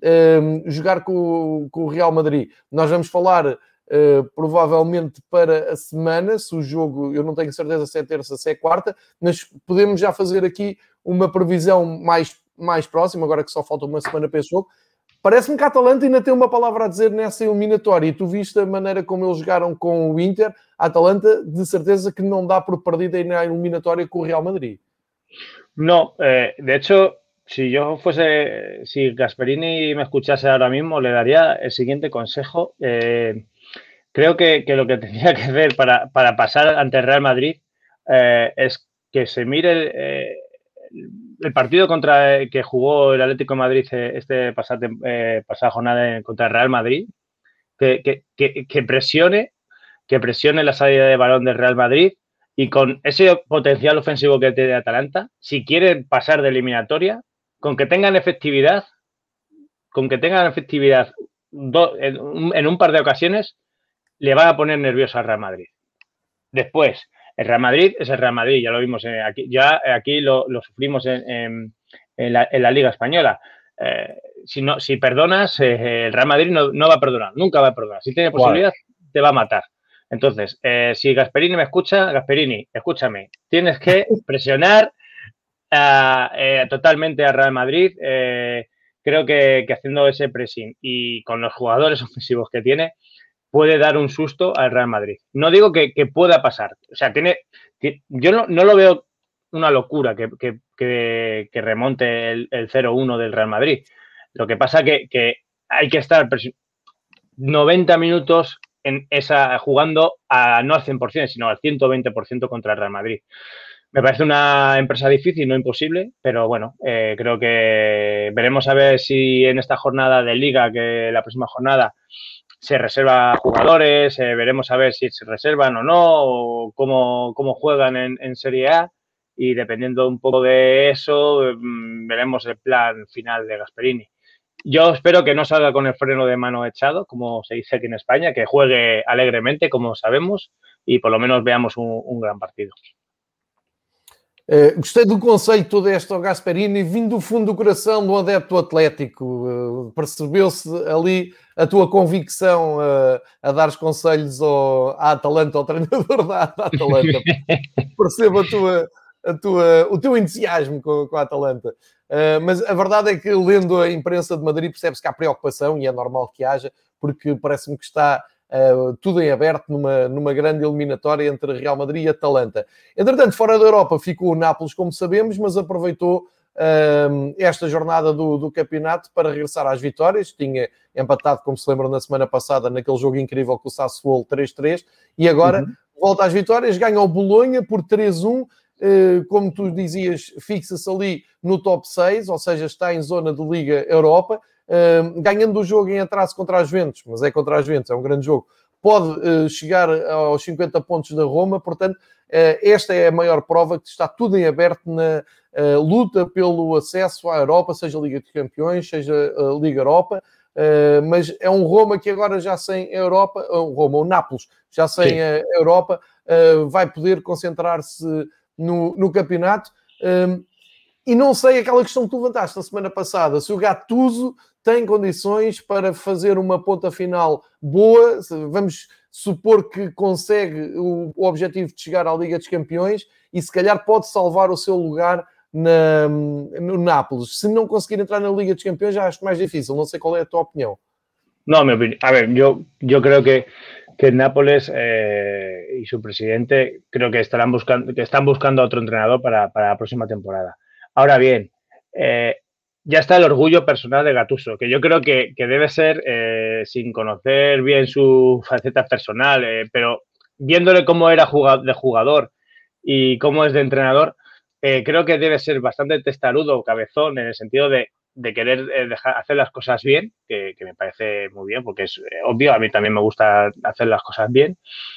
uh, jogar com, com o Real Madrid. Nós vamos falar uh, provavelmente para a semana, se o jogo, eu não tenho certeza se é terça, se é quarta, mas podemos já fazer aqui uma previsão mais, mais próxima, agora que só falta uma semana para esse jogo. Parece-me que a Atalanta ainda tem uma palavra a dizer nessa eliminatória. E tu viste a maneira como eles jogaram com o Inter. A Atalanta, de certeza que não dá por perdida na eliminatória com o Real Madrid. No, eh, de hecho, si yo fuese, si Gasperini me escuchase ahora mismo, le daría el siguiente consejo. Eh, creo que, que lo que tendría que hacer para, para pasar ante el Real Madrid eh, es que se mire el, eh, el partido contra que jugó el Atlético de Madrid este pasada, eh, pasada jornada contra el Real Madrid, que, que, que, que presione, que presione la salida de balón del Real Madrid. Y con ese potencial ofensivo que tiene Atalanta, si quieren pasar de eliminatoria, con que tengan efectividad, con que tengan efectividad do, en, un, en un par de ocasiones, le van a poner nervioso al Real Madrid. Después, el Real Madrid es el Real Madrid, ya lo vimos eh, aquí, ya aquí lo, lo sufrimos en, en, en, la, en, la, Liga Española. Eh, si, no, si perdonas, eh, el Real Madrid no, no va a perdonar, nunca va a perdonar. Si tiene posibilidad, wow, te va a matar. Entonces, eh, si Gasperini me escucha, Gasperini, escúchame, tienes que presionar uh, eh, totalmente al Real Madrid. Eh, creo que, que haciendo ese pressing y con los jugadores ofensivos que tiene, puede dar un susto al Real Madrid. No digo que, que pueda pasar. O sea, tiene, que, yo no, no lo veo una locura que, que, que, que remonte el, el cero uno del Real Madrid. Lo que pasa que, que hay que estar noventa minutos en esa, jugando a, no al cien por ciento, sino al ciento veinte por ciento contra el Real Madrid. Me parece una empresa difícil, no imposible, pero bueno, eh, creo que veremos a ver si en esta jornada de Liga, que la próxima jornada se reserva jugadores, eh, veremos a ver si se reservan o no, o cómo, cómo juegan en, en Serie A, y dependiendo un poco de eso, mmm, veremos el plan final de Gasperini. Yo espero que no salga con el freno de mano echado, como se dice aquí en España, que juegue alegremente, como sabemos, y por lo menos veamos un, un gran partido. Uh, gostei do conceito deste ao Gasperini, vindo do fundo do coração do adepto atlético. Uh, percebeu-se ali a tua convicção uh, a dar os conselhos ao, à Atalanta, ao treinador da, da Atalanta. Percebo a tua, a tua, o teu entusiasmo com, com a Atalanta. Uh, mas a verdade é que, lendo a imprensa de Madrid, percebe-se que há preocupação, e é normal que haja, porque parece-me que está uh, tudo em aberto numa, numa grande eliminatória entre Real Madrid e Atalanta. Entretanto, fora da Europa ficou o Nápoles, como sabemos, mas aproveitou uh, esta jornada do, do campeonato para regressar às vitórias. Tinha empatado, como se lembram, na semana passada, naquele jogo incrível com o Sassuolo três três, e agora uhum. volta às vitórias, ganha o Bolonha por três um. Uh, como tu dizias, fixa-se ali no top seis, ou seja, está em zona de Liga Europa, uh, ganhando o jogo em atraso contra as Juventus, mas é contra as Juventus, é um grande jogo, pode uh, chegar aos cinquenta pontos da Roma. Portanto, uh, esta é a maior prova que está tudo em aberto na uh, luta pelo acesso à Europa, seja a Liga dos Campeões, seja a Liga Europa. Uh, mas é um Roma que agora já sem Europa, um Roma, o Nápoles, já sem a Europa, uh, vai poder concentrar-se No, no campeonato. Um, e não sei, aquela questão que tu levantaste na semana passada, se o Gattuso tem condições para fazer uma ponta final boa. Vamos supor que consegue o, o objetivo de chegar à Liga dos Campeões e se calhar pode salvar o seu lugar na, no Nápoles. Se não conseguir entrar na Liga dos Campeões, já acho mais difícil. Não sei qual é a tua opinião. No, mi opinión. A ver, yo, yo creo que que el Nápoles eh, y su presidente creo que estarán buscando, que están buscando a otro entrenador para, para la próxima temporada. Ahora bien, eh, ya está el orgullo personal de Gattuso, que yo creo que, que debe ser, eh, sin conocer bien su faceta personal, eh, pero viéndole cómo era jugad- de jugador y cómo es de entrenador, eh, creo que debe ser bastante testarudo, cabezón, en el sentido de de querer eh, dejar, hacer las cosas bien, que, que me parece muy bien, porque es eh, obvio, a mí también me gusta hacer las cosas bien,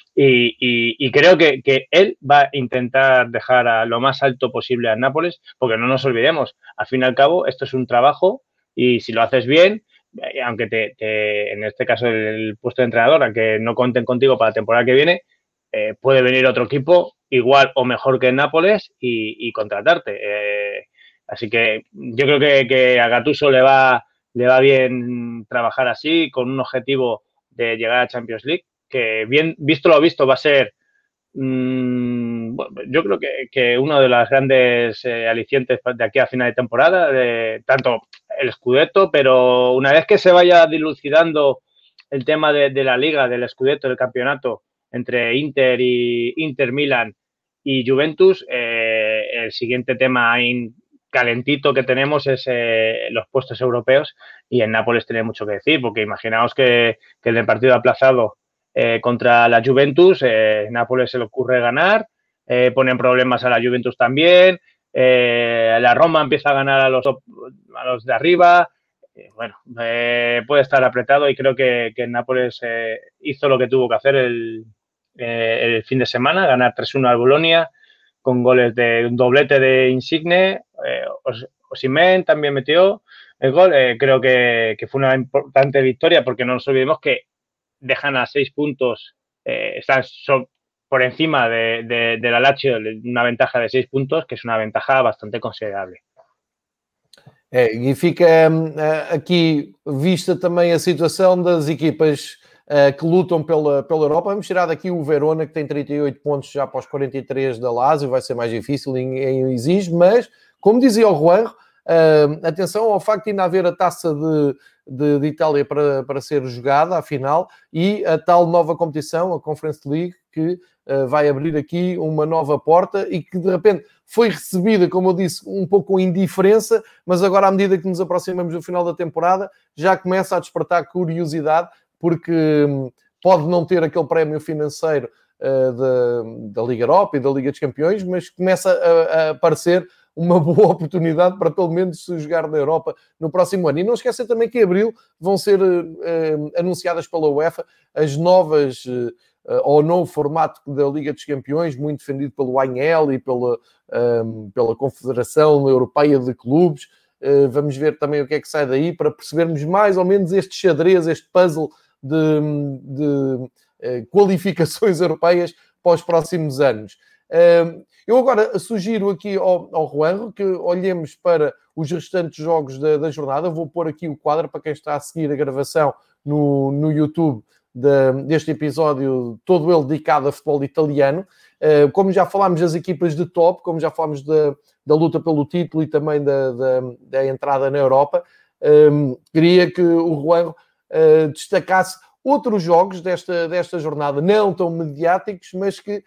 y, y, y creo que, que él va a intentar dejar a lo más alto posible a Nápoles, porque no nos olvidemos, al fin y al cabo, esto es un trabajo, y si lo haces bien, eh, aunque te, te, en este caso el, el puesto de entrenador, aunque no cuenten contigo para la temporada que viene, eh, puede venir otro equipo igual o mejor que el Nápoles y, y contratarte. Eh, Así que yo creo que, que a Gattuso le va, le va bien trabajar así, con un objetivo de llegar a Champions League, que bien visto lo visto va a ser mmm, bueno, yo creo que, que uno de los grandes eh, alicientes de aquí a final de temporada, de, tanto el Scudetto, pero una vez que se vaya dilucidando el tema de, de la Liga, del Scudetto, del campeonato, entre Inter y Inter Milan y Juventus, eh, el siguiente tema in, calentito que tenemos es eh, los puestos europeos, y en Nápoles tiene mucho que decir, porque imaginaos que, que en el partido aplazado eh, contra la Juventus, eh, Nápoles se le ocurre ganar, eh, ponen problemas a la Juventus también, eh, la Roma empieza a ganar a los, a los de arriba, eh, bueno, eh, puede estar apretado, y creo que, que Nápoles eh, hizo lo que tuvo que hacer el, eh, el fin de semana, ganar tres uno al Bolonia, con goles de un doblete de Insigne, eh, Osimhen también metió el gol. Eh, creo que, que fue una importante victoria, porque no nos olvidemos que dejan a seis puntos, eh, están so, por encima de, de, de la Lazio, una ventaja de seis puntos, que es una ventaja bastante considerable. É, e fica uh, aqui vista também a situação das equipas uh, que lutam pela, pela Europa. Vamos tirar daqui o Verona, que tem trinta e oito pontos já para os quarenta e três da Lazio, vai ser mais difícil em, em exige, mas, como dizia o Juan, uh, atenção ao facto de ainda haver a taça de, de, de Itália para, para ser jogada, a final, e a tal nova competição, a Conference League, que uh, vai abrir aqui uma nova porta e que, de repente, foi recebida, como eu disse, um pouco com indiferença, mas agora, à medida que nos aproximamos do final da temporada, já começa a despertar curiosidade, porque hum, pode não ter aquele prémio financeiro uh, da, da Liga Europa e da Liga dos Campeões, mas começa a, a aparecer uma boa oportunidade para, pelo menos, se jogar na Europa no próximo ano. E não esqueça também que em abril vão ser uh, anunciadas pela UEFA as novas... Uh, ao novo formato da Liga dos Campeões, muito defendido pelo A N L e pela, um, pela Confederação Europeia de Clubes. Uh, vamos ver também o que é que sai daí, para percebermos mais ou menos este xadrez, este puzzle de, de uh, qualificações europeias para os próximos anos. Uh, eu agora sugiro aqui ao, ao Juanjo que olhemos para os restantes jogos da, da jornada. Vou pôr aqui o quadro para quem está a seguir a gravação no, no YouTube, De, deste episódio, todo ele dedicado a futebol italiano. Uh, como já falámos das equipas de top, como já falámos da, da luta pelo título e também da, da, da entrada na Europa, um, queria que o Juan uh, destacasse outros jogos desta, desta jornada, não tão mediáticos, mas que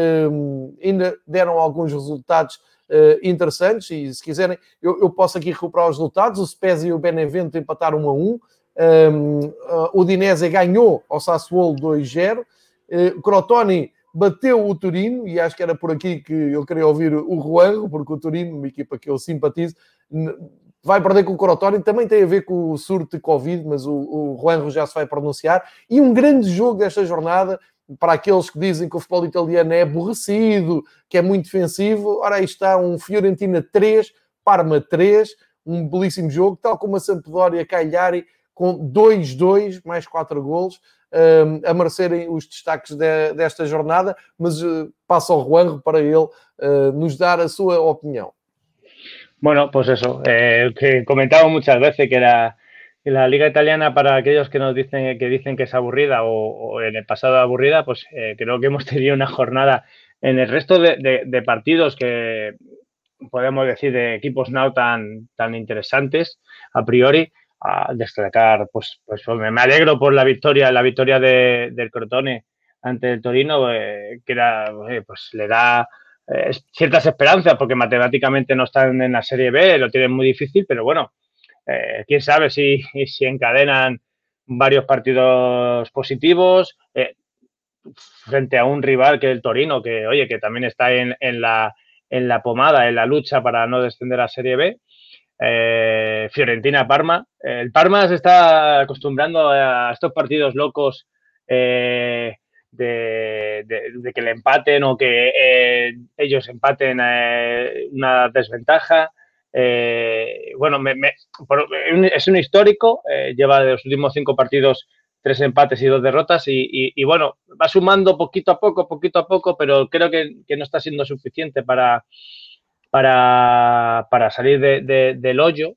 um, ainda deram alguns resultados uh, interessantes, e se quiserem eu, eu posso aqui recuperar os resultados. O Spezia e o Benevento empataram um a um. Um, uh, o Udinese ganhou ao Sassuolo dois zero. uh, Crotone bateu o Torino, e acho que era por aqui que eu queria ouvir o Juanjo, porque o Torino, uma equipa que eu simpatizo, vai perder com o Crotone. Também tem a ver com o surto de Covid, mas o, o Juanjo já se vai pronunciar. E um grande jogo desta jornada, para aqueles que dizem que o futebol italiano é aborrecido, que é muito defensivo. Ora, aí está um Fiorentina três, Parma três, um belíssimo jogo, tal como a Sampdoria Cagliari, com dois dois, mais quatro golos, um, a merecerem os destaques de, desta jornada, mas uh, passo ao Juanjo para ele uh, nos dar a sua opinión. Bueno, pues eso, eh, que comentamos muchas veces que la, que la Liga Italiana, para aquellos que nos dicen que dicen que es aburrida, o, o en el pasado aburrida, pues eh, creo que hemos tenido una jornada en el resto de, de, de partidos que podemos decir de equipos no tan, tan interesantes a priori. A destacar, pues, pues me alegro por la victoria, la victoria de, del Crotone ante el Torino, eh, que era, eh, pues le da eh, ciertas esperanzas, porque matemáticamente no están en la Serie B, lo tienen muy difícil, pero bueno, eh, quién sabe si, si encadenan varios partidos positivos eh, frente a un rival que es el Torino, que oye, que también está en, en, la, en la pomada, en la lucha para no descender a Serie B. Eh, Fiorentina-Parma. Eh, el Parma se está acostumbrando a estos partidos locos eh, de, de, de que le empaten o que eh, ellos empaten eh, una desventaja. Eh, bueno, me, me, por, es un histórico, eh, lleva de los últimos cinco partidos tres empates y dos derrotas y, y, y bueno, va sumando poquito a poco, poquito a poco, pero creo que, que no está siendo suficiente para Para, para salir de, de, del hoyo.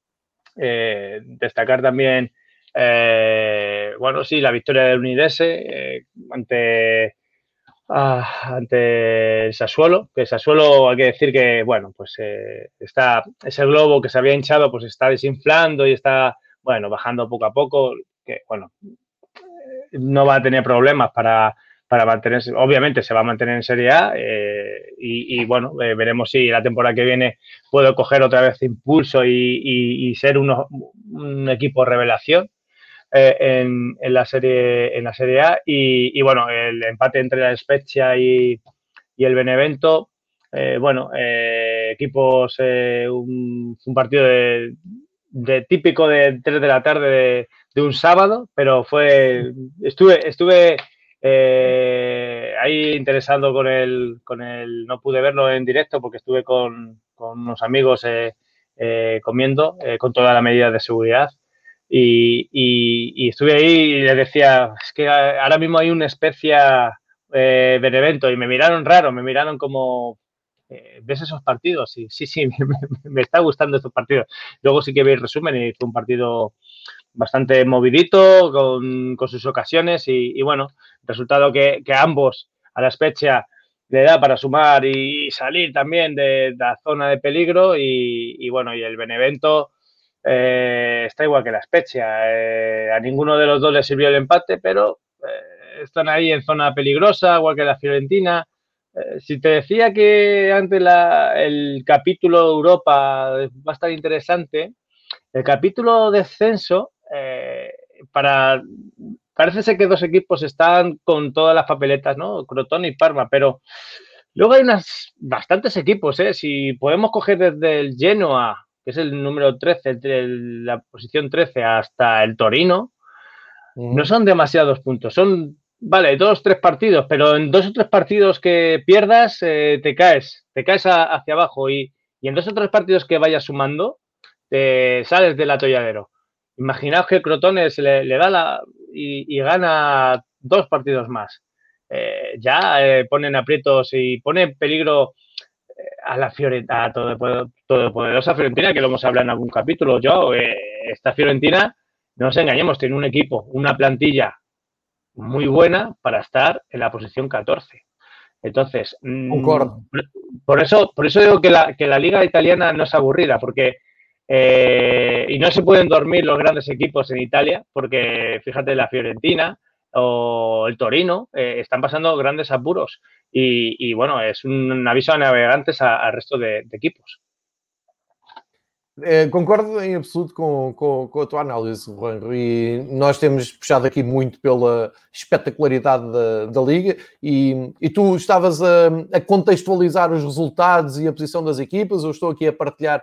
Eh, destacar también, eh, bueno, sí, la victoria del Udinese eh, ante, Ah, ante el Sassuolo, que el Sassuolo hay que decir que, bueno, pues eh, está, ese globo que se había hinchado, pues está desinflando y está, bueno, bajando poco a poco, que, bueno, no va a tener problemas para, para mantenerse, obviamente se va a mantener en Serie A eh, y, y, bueno, eh, veremos si la temporada que viene puedo coger otra vez impulso y, y, y ser uno, un equipo revelación. Eh, en, en, la serie, en la Serie A y, y, bueno, el empate entre la Spezia y, y el Benevento, eh, bueno, eh, equipos, eh, un, un, partido de, de típico de tres de la tarde de, de un sábado, pero fue, estuve, estuve eh, ahí interesado con el, con el, no pude verlo en directo porque estuve con, con unos amigos eh, eh, comiendo eh, con toda la medida de seguridad. Y, y, y, estuve ahí y les decía, es que ahora mismo hay una especie eh, Benevento y me miraron raro, me miraron como, eh, ¿ves esos partidos? Y sí, sí, me, me está gustando estos partidos. Luego sí que vi el resumen y fue un partido bastante movidito, con, con sus ocasiones y, y bueno, resultado que, que ambos a la Spezia le da para sumar y salir también de, de la zona de peligro y, y bueno, y el Benevento eh, está igual que la Spezia. Eh, a ninguno de los dos le sirvió el empate, pero eh, están ahí en zona peligrosa, igual que la Fiorentina. Eh, si te decía que antes la, el capítulo Europa va a estar interesante, el capítulo descenso, eh, para parece ser que dos equipos están con todas las papeletas, ¿no? Crotone y Parma, pero luego hay unas bastantes equipos, ¿eh? Si podemos coger desde el Genoa, que es el número trece, entre la posición trece hasta el Torino, uh-huh. No son demasiados puntos, son, vale, dos, tres partidos, pero en dos o tres partidos que pierdas eh, te caes, te caes a, hacia abajo y, y en dos o tres partidos que vayas sumando, te sales del atolladero. Imaginaos que el Crotone se le, le da la y, y gana dos partidos más. Eh, ya eh, ponen aprietos y pone en peligro eh, a la Fiorentina, a todopoderosa Fiorentina, que lo hemos hablado en algún capítulo. Yo, eh, esta Fiorentina, no nos engañemos, tiene un equipo, una plantilla muy buena para estar en la posición catorce. Entonces, Concordo. Por eso, por eso digo que la, que la liga italiana no es aburrida, porque eh, y no se pueden dormir los grandes equipos en Italia, porque fíjate, la Fiorentina o el Torino eh, están pasando grandes apuros y, y bueno, es un, un aviso a navegantes al resto de, de equipos. É, concordo em absoluto com, com, com a tua análise, Juan, e nós temos puxado aqui muito pela espetacularidade da, da Liga e, e tu estavas a, a contextualizar os resultados e a posição das equipas. Eu estou aqui a partilhar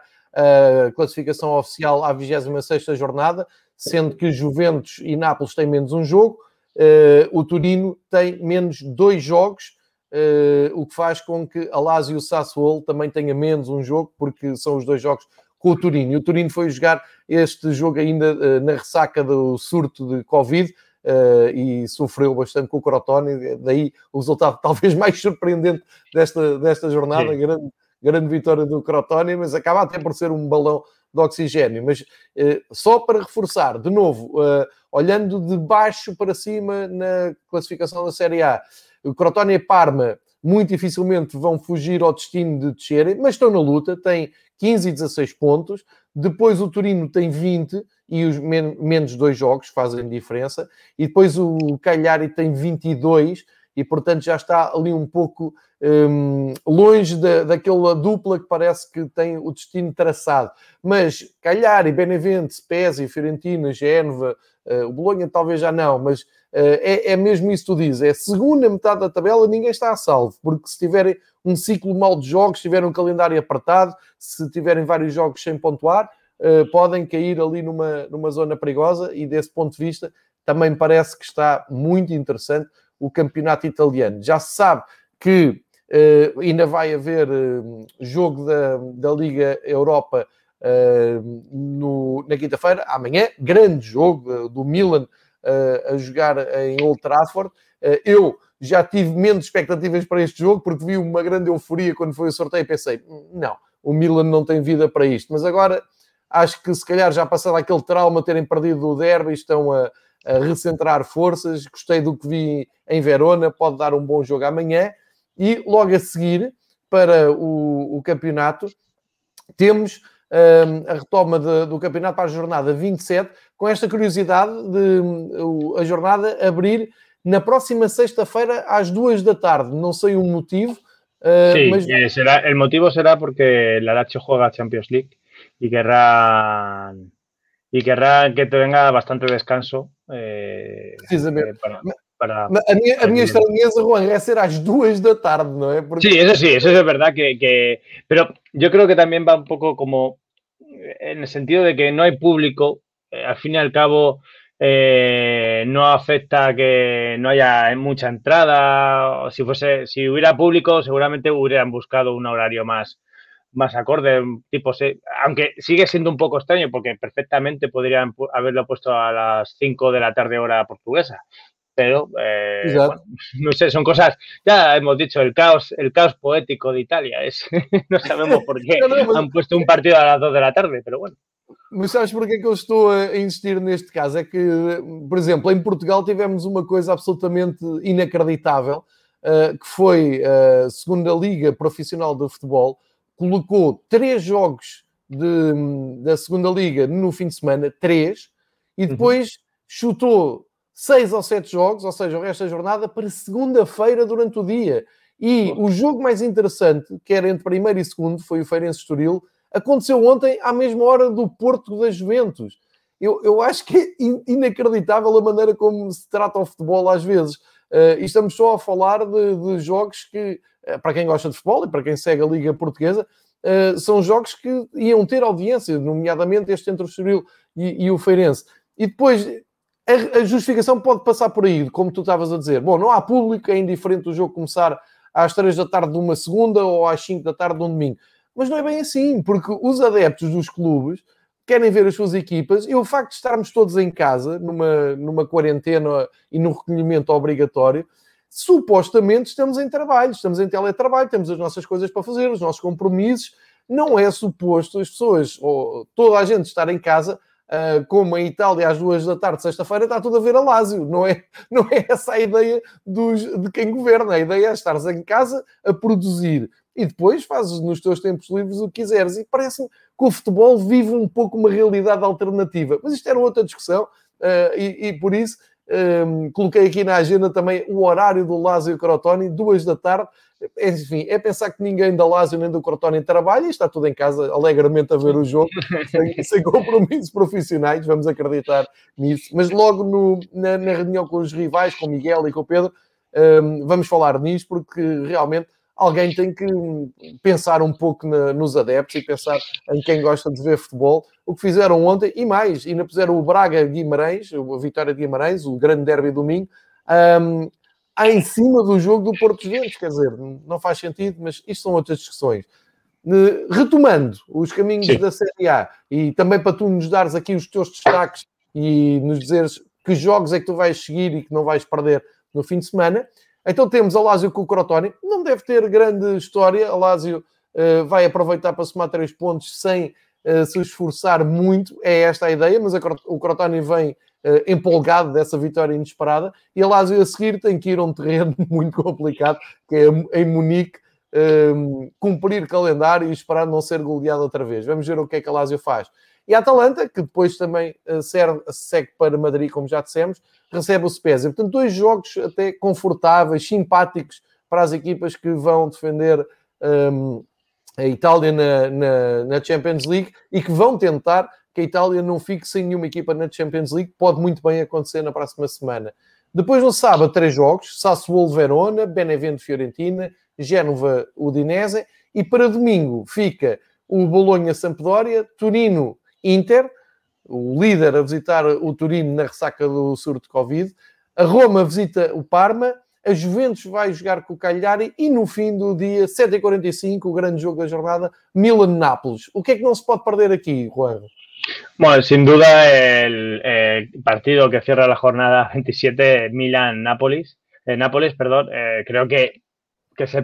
a classificação oficial à vigésima sexta jornada, sendo que Juventus e Nápoles têm menos um jogo, uh, o Torino tem menos dois jogos, uh, o que faz com que a Lazio e o Sassuolo também tenha menos um jogo, porque são os dois jogos com o Torino. E o Torino foi jogar este jogo ainda uh, na ressaca do surto de Covid uh, e sofreu bastante com o Crotone. Daí o resultado talvez mais surpreendente desta, desta jornada, grande, grande vitória do Crotone, mas acaba até por ser um balão de oxigênio. Mas uh, só para reforçar, de novo, uh, olhando de baixo para cima na classificação da Série A, o Crotone e Parma muito dificilmente vão fugir ao destino de descerem, mas estão na luta, têm quinze e dezasseis pontos. Depois o Torino tem vinte e os men- menos dois jogos fazem diferença. E depois o Cagliari tem vinte e dois e, portanto, já está ali um pouco um, longe da, daquela dupla que parece que tem o destino traçado. Mas Cagliari, Benevento, Spezia, Fiorentina, Génova, uh, o Bolonha talvez já não, mas Uh, é, é mesmo isso que tu dizes, é a segunda metade da tabela, ninguém está a salvo, porque se tiverem um ciclo mau de jogos, se tiverem um calendário apertado, se tiverem vários jogos sem pontuar, uh, podem cair ali numa, numa zona perigosa e desse ponto de vista também me parece que está muito interessante o campeonato italiano. Já se sabe que uh, ainda vai haver uh, jogo da, da Liga Europa uh, no, na quinta-feira, amanhã, grande jogo uh, do Milan Uh, a jogar em Old Trafford. Uh, eu já tive menos expectativas para este jogo, porque vi uma grande euforia quando foi o sorteio e pensei, não, o Milan não tem vida para isto. Mas agora acho que se calhar já passaram aquele trauma de terem perdido o derby, estão a, a recentrar forças. Gostei do que vi em Verona, pode dar um bom jogo amanhã. E logo a seguir, para o, o campeonato, temos um, a retoma de, do campeonato para a jornada vinte e sete, com esta curiosidade de um, a jornada abrir na próxima sexta-feira às duas da tarde. Não sei o motivo. Uh, sí, mas... eh, será, el motivo será porque la Lazio juega Champions League y querrá, y querrá que te venga bastante descanso. Eh, Precisamente. eh, para, para, a minha, a para minha estranheza, Juan, é ser às duas da tarde, ¿no es? Porque... Sí, eso sí, eso es verdad que, que... Pero yo creo que también va un poco como en el sentido de que no hay público, eh, al fin y al cabo eh, no afecta que no haya mucha entrada. O si fuese, si hubiera público, seguramente hubieran buscado un horario más, más acorde, tipo, aunque sigue siendo un poco extraño porque perfectamente podrían haberlo puesto a las cinco de la tarde hora portuguesa. Pero, eh, bueno, no sé, son cosas, ya hemos dicho, el caos, el caos poético de Italia, es, no sabemos por qué não, não, mas... han puesto un partido a las dos de la tarde, pero bueno. Mas sabes porque é que eu estou a insistir neste caso? É que, por exemplo, em Portugal tivemos uma coisa absolutamente inacreditável, uh, que foi a segunda Liga Profissional de Futebol, colocou três jogos de, da segunda Liga no fim de semana, três, e depois uhum. chutou seis ou sete jogos, ou seja, o resto da jornada, para segunda-feira durante o dia. E oh. o jogo mais interessante, que era entre primeiro e segundo, foi o Feirense Estoril, aconteceu ontem à mesma hora do Porto da Juventus. Eu, eu acho que é inacreditável a maneira como se trata o futebol às vezes. Uh, e estamos só a falar de, de jogos que, uh, para quem gosta de futebol e para quem segue a Liga Portuguesa, uh, são jogos que iam ter audiência, nomeadamente este entre o Estoril e, e o Feirense. E depois... A justificação pode passar por aí, como tu estavas a dizer. Bom, não há público, é indiferente o jogo começar às três da tarde de uma segunda ou às cinco da tarde de um domingo. Mas não é bem assim, porque os adeptos dos clubes querem ver as suas equipas e o facto de estarmos todos em casa, numa, numa quarentena e num recolhimento obrigatório, supostamente estamos em trabalho, estamos em teletrabalho, temos as nossas coisas para fazer, os nossos compromissos. Não é suposto as pessoas, ou toda a gente estar em casa... Uh, como em Itália às duas da tarde, sexta-feira, está tudo a ver a Lazio. Não é, não é essa a ideia dos, de quem governa. A ideia é estares em casa a produzir e depois fazes nos teus tempos livres o que quiseres. E parece-me que o futebol vive um pouco uma realidade alternativa. Mas isto era outra discussão uh, e, e por isso um, coloquei aqui na agenda também o horário do Lazio Crotone, duas da tarde. Enfim, é pensar que ninguém da Lazio nem do Crotone trabalha e está tudo em casa alegremente a ver o jogo, sem, sem compromissos profissionais, vamos acreditar nisso. Mas logo no, na, na reunião com os rivais, com o Miguel e com o Pedro, um, vamos falar nisso, porque realmente alguém tem que pensar um pouco na, nos adeptos e pensar em quem gosta de ver futebol. O que fizeram ontem, e mais, ainda puseram o Braga-Guimarães, a vitória de Guimarães, o grande derby domingo, um, em cima do jogo do Porto Juventus, quer dizer, não faz sentido, mas isto são outras discussões. Retomando os caminhos Sim. da Série A, e também para tu nos dares aqui os teus destaques e nos dizeres que jogos é que tu vais seguir e que não vais perder no fim de semana, então temos a Lazio com o Crotone, não deve ter grande história, a Lazio uh, vai aproveitar para somar três pontos sem uh, se esforçar muito, é esta a ideia, mas a, o Crotone vem Uh, empolgado dessa vitória inesperada, e a Lazio a seguir tem que ir a um terreno muito complicado, que é em Munique, um, cumprir calendário e esperar não ser goleado outra vez. Vamos ver o que é que a Lazio faz. E a Atalanta, que depois também uh, serve, segue para Madrid, como já dissemos, recebe o Spezia. Portanto, dois jogos até confortáveis, simpáticos para as equipas que vão defender um, a Itália na, na, na Champions League e que vão tentar que a Itália não fique sem nenhuma equipa na Champions League. Pode muito bem acontecer na próxima semana. Depois, no sábado, três jogos. Sassuolo-Verona, Benevento-Fiorentina, Génova-Udinese. E para domingo fica o Bolonha-Sampdoria, Turino-Inter, o líder a visitar o Turino na ressaca do surto de Covid. A Roma visita o Parma. A Juventus vai jogar com o Cagliari. E no fim do dia, sete e quarenta e cinco, o grande jogo da jornada, Milan-Nápoles. O que é que não se pode perder aqui, Juan? Bueno, sin duda el, el partido que cierra la jornada veintisiete, Milan-Nápoles, eh, Nápoles, perdón, eh, creo que, que es el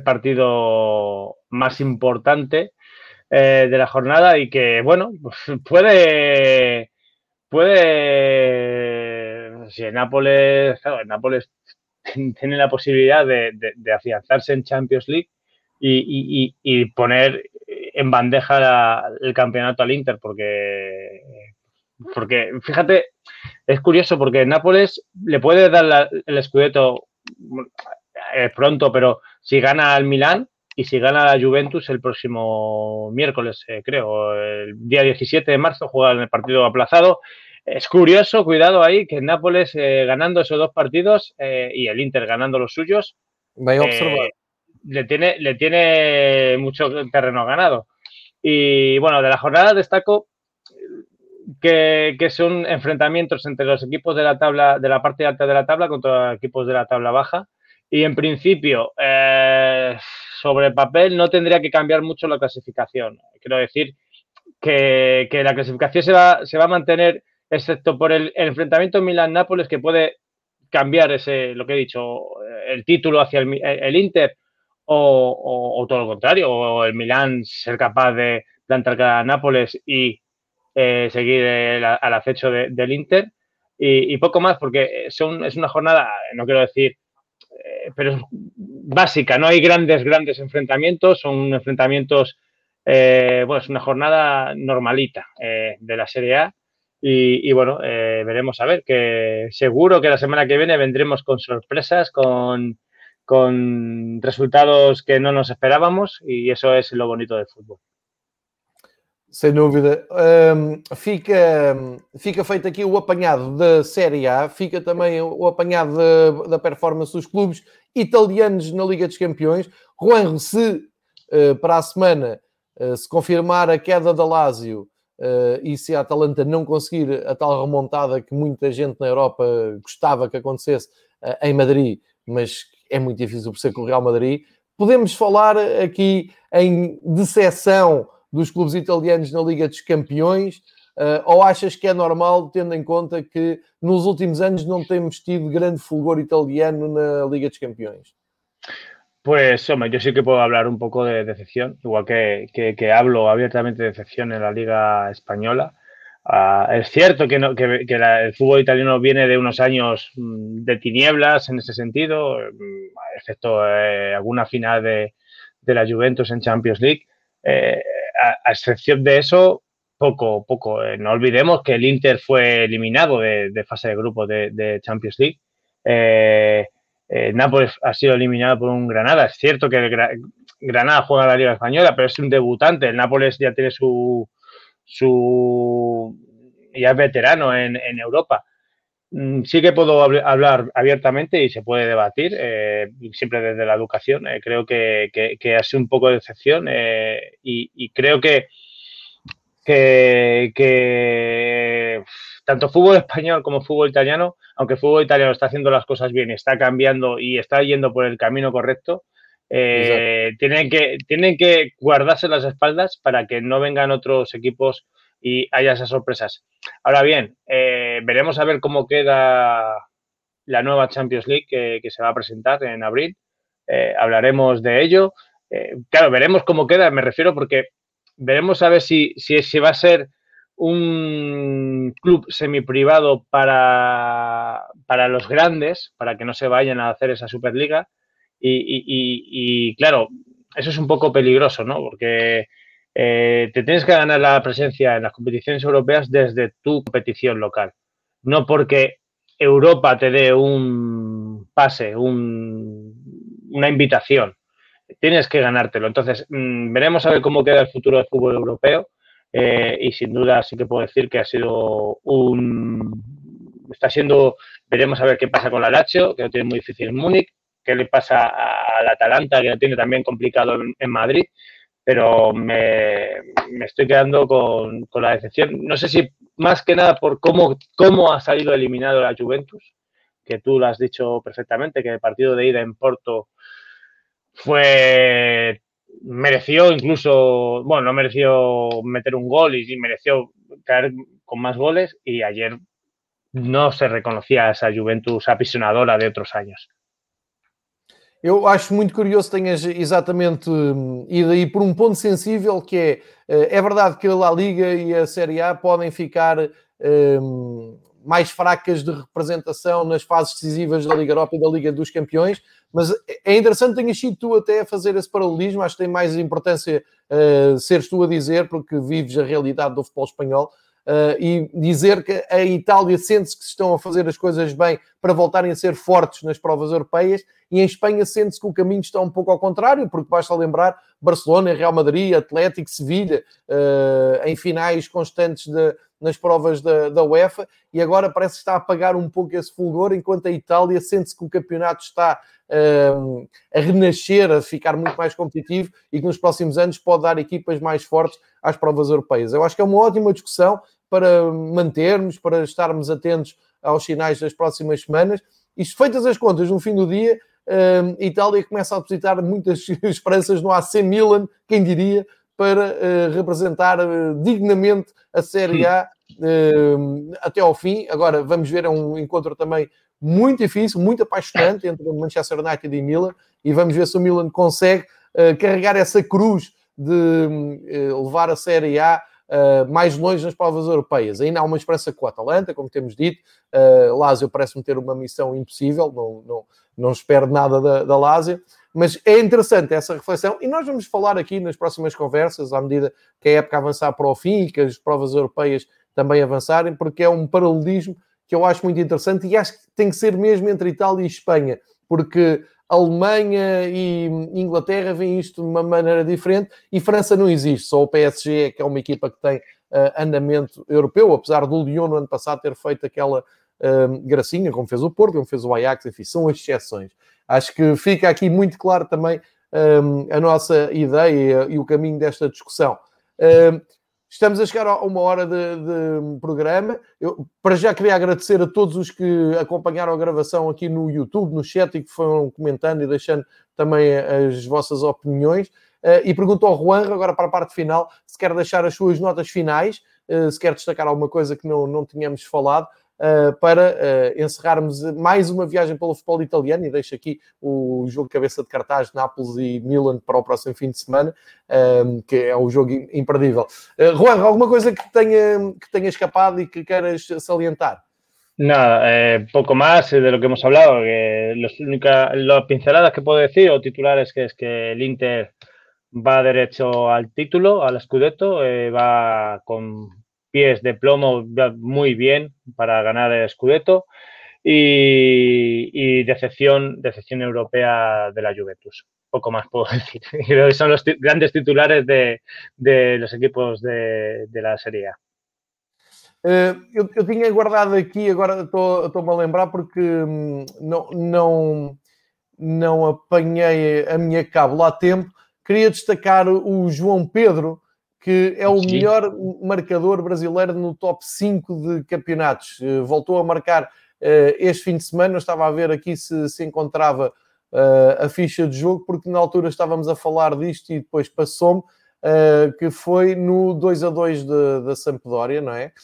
partido más importante eh, de la jornada y que, bueno, puede, puede si el Nápoles, claro, el Nápoles tiene la posibilidad de, de, de afianzarse en Champions League y, y, y poner en bandeja la, el campeonato al Inter, porque, porque, fíjate, es curioso porque el Nápoles le puede dar la, el Scudetto eh, pronto, pero si gana al Milán y si gana la Juventus el próximo miércoles, eh, creo, el día diecisiete de marzo juega en el partido aplazado. Es curioso, cuidado ahí, que el Nápoles eh, ganando esos dos partidos eh, y el Inter ganando los suyos, Bem observado. eh, le, tiene, le tiene mucho terreno ganado. Y bueno, de la jornada destaco que, que son enfrentamientos entre los equipos de la tabla, de la parte alta de la tabla contra equipos de la tabla baja. Y en principio, eh, sobre papel no tendría que cambiar mucho la clasificación. Quiero decir que, que la clasificación se va, se va a mantener, excepto por el, el enfrentamiento Milan-Nápoles, que puede cambiar ese, lo que he dicho, el título hacia el, el Inter o, o, o todo lo contrario, o el Milán ser capaz de plantar cara a Nápoles y eh, seguir el, al acecho de, del Inter y, y poco más, porque son, es una jornada, no quiero decir, eh, pero es básica, no hay grandes, grandes enfrentamientos, son enfrentamientos, eh, bueno, es una jornada normalita eh, de la Serie A. Y, y bueno, eh, veremos a ver, que seguro que la semana que viene vendremos con sorpresas, con, con resultados que no nos esperábamos y eso es lo bonito del fútbol. Sem dúvida. Um, fica, fica feito aqui o apanhado da Série A, fica também o apanhado da, da performance dos clubes italianos na Liga dos Campeões. Juanjo, se uh, para a semana uh, se confirmar a queda da Lazio uh, e se a Atalanta não conseguir a tal remontada que muita gente na Europa gostava que acontecesse uh, em Madrid, mas é muito difícil por ser com o Real Madrid, podemos falar aqui em decepção dos clubes italianos na Liga dos Campeões, uh, ou achas que é normal, tendo em conta que nos últimos anos não temos tido grande fulgor italiano na Liga dos Campeões? Pues, hombre, yo sí que puedo hablar un poco de decepción, igual que, que, que hablo abiertamente de decepción en la Liga Española. Uh, es cierto que, no, que, que la, el fútbol italiano viene de unos años mm, de tinieblas en ese sentido, mm, excepto eh, alguna final de, de la Juventus en Champions League. Eh, a, a excepción de eso, poco, poco. Eh, no olvidemos que el Inter fue eliminado de, de fase de grupo de, de Champions League. Eh, eh, Nápoles ha sido eliminado por un Granada. Es cierto que el Gra- Granada juega en la Liga Española, pero es un debutante. El Nápoles ya tiene su... su ya es veterano en, en Europa. Sí que puedo hablar abiertamente y se puede debatir, eh, siempre desde la educación. Eh, creo que, que, que ha sido un poco de decepción eh, y, y creo que, que, que tanto fútbol español como fútbol italiano, aunque el fútbol italiano está haciendo las cosas bien, está cambiando y está yendo por el camino correcto, eh, tienen que, tienen que guardarse las espaldas para que no vengan otros equipos y haya esas sorpresas. Ahora bien, eh, veremos a ver cómo queda la nueva Champions League que, que se va a presentar en abril. Eh, hablaremos de ello. Eh, claro, veremos cómo queda, me refiero, porque veremos a ver si, si, si va a ser un club semiprivado para, para los grandes, para que no se vayan a hacer esa Superliga. Y, y, y, y claro, eso es un poco peligroso, ¿no? Porque Eh, te tienes que ganar la presencia en las competiciones europeas desde tu competición local. No porque Europa te dé un pase, un, una invitación. Tienes que ganártelo. Entonces, mmm, veremos a ver cómo queda el futuro del fútbol europeo. Eh, y sin duda sí que puedo decir que ha sido un... Está siendo... Veremos a ver qué pasa con la Lazio, que lo tiene muy difícil en Múnich. Qué le pasa al Atalanta, que lo tiene también complicado en, en Madrid. Pero me, me estoy quedando con, con la decepción. No sé si más que nada por cómo, cómo ha salido eliminado la Juventus, que tú lo has dicho perfectamente, que el partido de ida en Porto fue mereció incluso, bueno, no mereció meter un gol y sí mereció caer con más goles y ayer no se reconocía esa Juventus apisonadora de otros años. Eu acho muito curioso que tenhas exatamente um, ido aí por um ponto sensível que é, uh, é verdade que a La Liga e a Série A podem ficar um, mais fracas de representação nas fases decisivas da Liga Europa e da Liga dos Campeões, mas é interessante que tenhas sido tu até a fazer esse paralelismo, acho que tem mais importância uh, seres tu a dizer, porque vives a realidade do futebol espanhol, uh, e dizer que a Itália sente-se que estão a fazer as coisas bem para voltarem a ser fortes nas provas europeias, e em Espanha sente-se que o caminho está um pouco ao contrário, porque basta lembrar Barcelona, Real Madrid, Atlético, Sevilha, uh, em finais constantes de, nas provas da, da UEFA, e agora parece que está a apagar um pouco esse fulgor, enquanto a Itália sente-se que o campeonato está uh, a renascer, a ficar muito mais competitivo, e que nos próximos anos pode dar equipas mais fortes às provas europeias. Eu acho que é uma ótima discussão para mantermos, para estarmos atentos aos sinais das próximas semanas. Isto, feitas as contas, no fim do dia, a Itália começa a depositar muitas esperanças no A C Milan, quem diria, para uh, representar uh, dignamente a Série A uh, até ao fim. Agora, vamos ver, é um encontro também muito difícil, muito apaixonante entre Manchester United e Milan, e vamos ver se o Milan consegue uh, carregar essa cruz de uh, levar a Série A Uh, mais longe nas provas europeias. Ainda há uma esperança com o Atalanta, como temos dito. Uh, Lazio parece-me ter uma missão impossível, não, não, não espero nada da, da Lazio, mas é interessante essa reflexão, e nós vamos falar aqui nas próximas conversas, à medida que a época avançar para o fim e que as provas europeias também avançarem, porque é um paralelismo que eu acho muito interessante, e acho que tem que ser mesmo entre Itália e Espanha, porque a Alemanha e Inglaterra veem isto de uma maneira diferente, e França não existe, só o P S G, que é uma equipa que tem uh, andamento europeu, apesar do Lyon no ano passado ter feito aquela uh, gracinha, como fez o Porto, como fez o Ajax, enfim, são as exceções. Acho que fica aqui muito claro também um, a nossa ideia e o caminho desta discussão. Uh, Estamos a chegar a uma hora de, de programa. Eu, para já, queria agradecer a todos os que acompanharam a gravação aqui no YouTube, no chat, e que foram comentando e deixando também as vossas opiniões. Uh, e pergunto ao Juan, agora para a parte final, se quer deixar as suas notas finais, uh, se quer destacar alguma coisa que não, não tínhamos falado, Uh, para uh, encerrarmos mais uma viagem pelo futebol italiano, e deixo aqui o jogo de cabeça de cartaz Nápoles e Milan para o próximo fim de semana, um, que é um jogo imperdível. Uh, Juan, alguma coisa que tenha, que tenha escapado e que queiras salientar? Nada, eh, poco más de lo que hemos hablado. Que los única, las pinceladas que puedo decir o titulares que es que el Inter va derecho al título, al Scudetto, eh, va con pies de plomo muy bien para ganar el Scudetto, y, y decepción, decepción europea de la Juventus. Poco más puedo decir. Creo que son los grandes titulares de, de los equipos de, de la Serie A. Uh, eu, eu tinha guardado aqui, agora estou-me a lembrar, porque hum, não, não, não apanhei a minha cábula a tempo. Queria destacar o João Pedro, que é o Sim. melhor marcador brasileiro no top cinco de campeonatos. Uh, voltou a marcar uh, este fim de semana. Eu estava a ver aqui se se encontrava uh, a ficha de jogo, porque na altura estávamos a falar disto e depois passou-me, uh, que foi no dois a dois da Sampdoria, não é?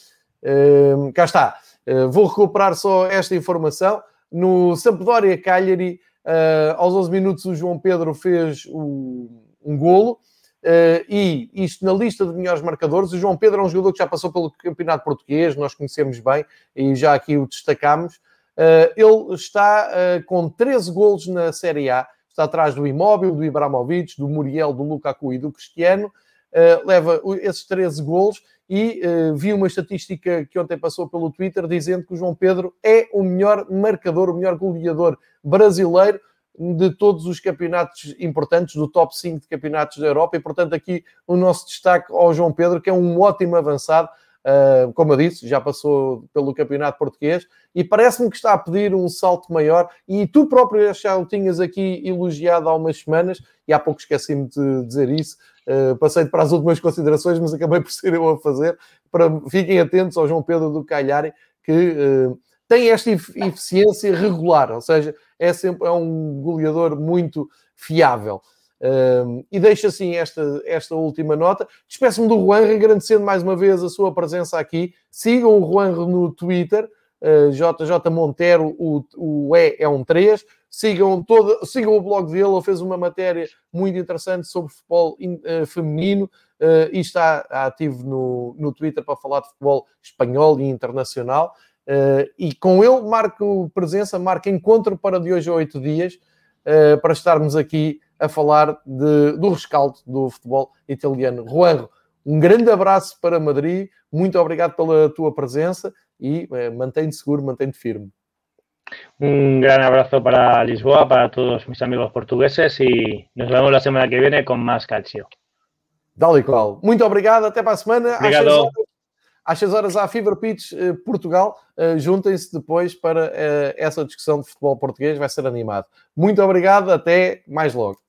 Uh, cá está. Uh, vou recuperar só esta informação. No Sampdoria Cagliari, uh, aos onze minutos, o João Pedro fez o, um golo. Uh, e isto na lista de melhores marcadores, o João Pedro é um jogador que já passou pelo campeonato português, nós conhecemos bem e já aqui o destacámos. Uh, ele está uh, com treze golos na Série A, está atrás do Immobile, do Ibrahimovic, do Muriel, do Lukaku e do Cristiano. Uh, leva esses treze golos, e uh, vi uma estatística que ontem passou pelo Twitter dizendo que o João Pedro é o melhor marcador, o melhor goleador brasileiro de todos os campeonatos importantes, do top cinco de campeonatos da Europa, e portanto aqui o nosso destaque ao João Pedro, que é um ótimo avançado, uh, como eu disse, já passou pelo campeonato português, e parece-me que está a pedir um salto maior, e tu próprio já o tinhas aqui elogiado há umas semanas, e há pouco esqueci-me de dizer isso, uh, passei para as últimas considerações, mas acabei por ser eu a fazer. Para, fiquem atentos ao João Pedro do Cagliari, que uh, tem esta eficiência regular, ou seja, é sempre é um goleador muito fiável. Um, e deixo assim esta, esta última nota. Despeço-me do Juanro, agradecendo mais uma vez a sua presença aqui. Sigam o Juanro no Twitter, uh, J J Montero, o, o E é um três. Sigam, todo, sigam o blog dele, ele fez uma matéria muito interessante sobre futebol in, uh, feminino, uh, e está ativo no, no Twitter para falar de futebol espanhol e internacional. Uh, e com ele marco presença, marco encontro para de hoje a oito dias, uh, para estarmos aqui a falar de, do rescaldo do futebol italiano. Juanjo, um grande abraço para Madrid, muito obrigado pela tua presença e uh, mantém-te seguro, mantém-te firme. Un gran abrazo para Lisboa, para todos mis amigos portugueses y nos vemos la semana que viene con más calcio. Dale qual. Muito obrigado, até para a semana. Obrigado. Às seis horas à Fever Pitch uh, Portugal. Uh, juntem-se depois para uh, essa discussão de futebol português, vai ser animado. Muito obrigado, até mais logo.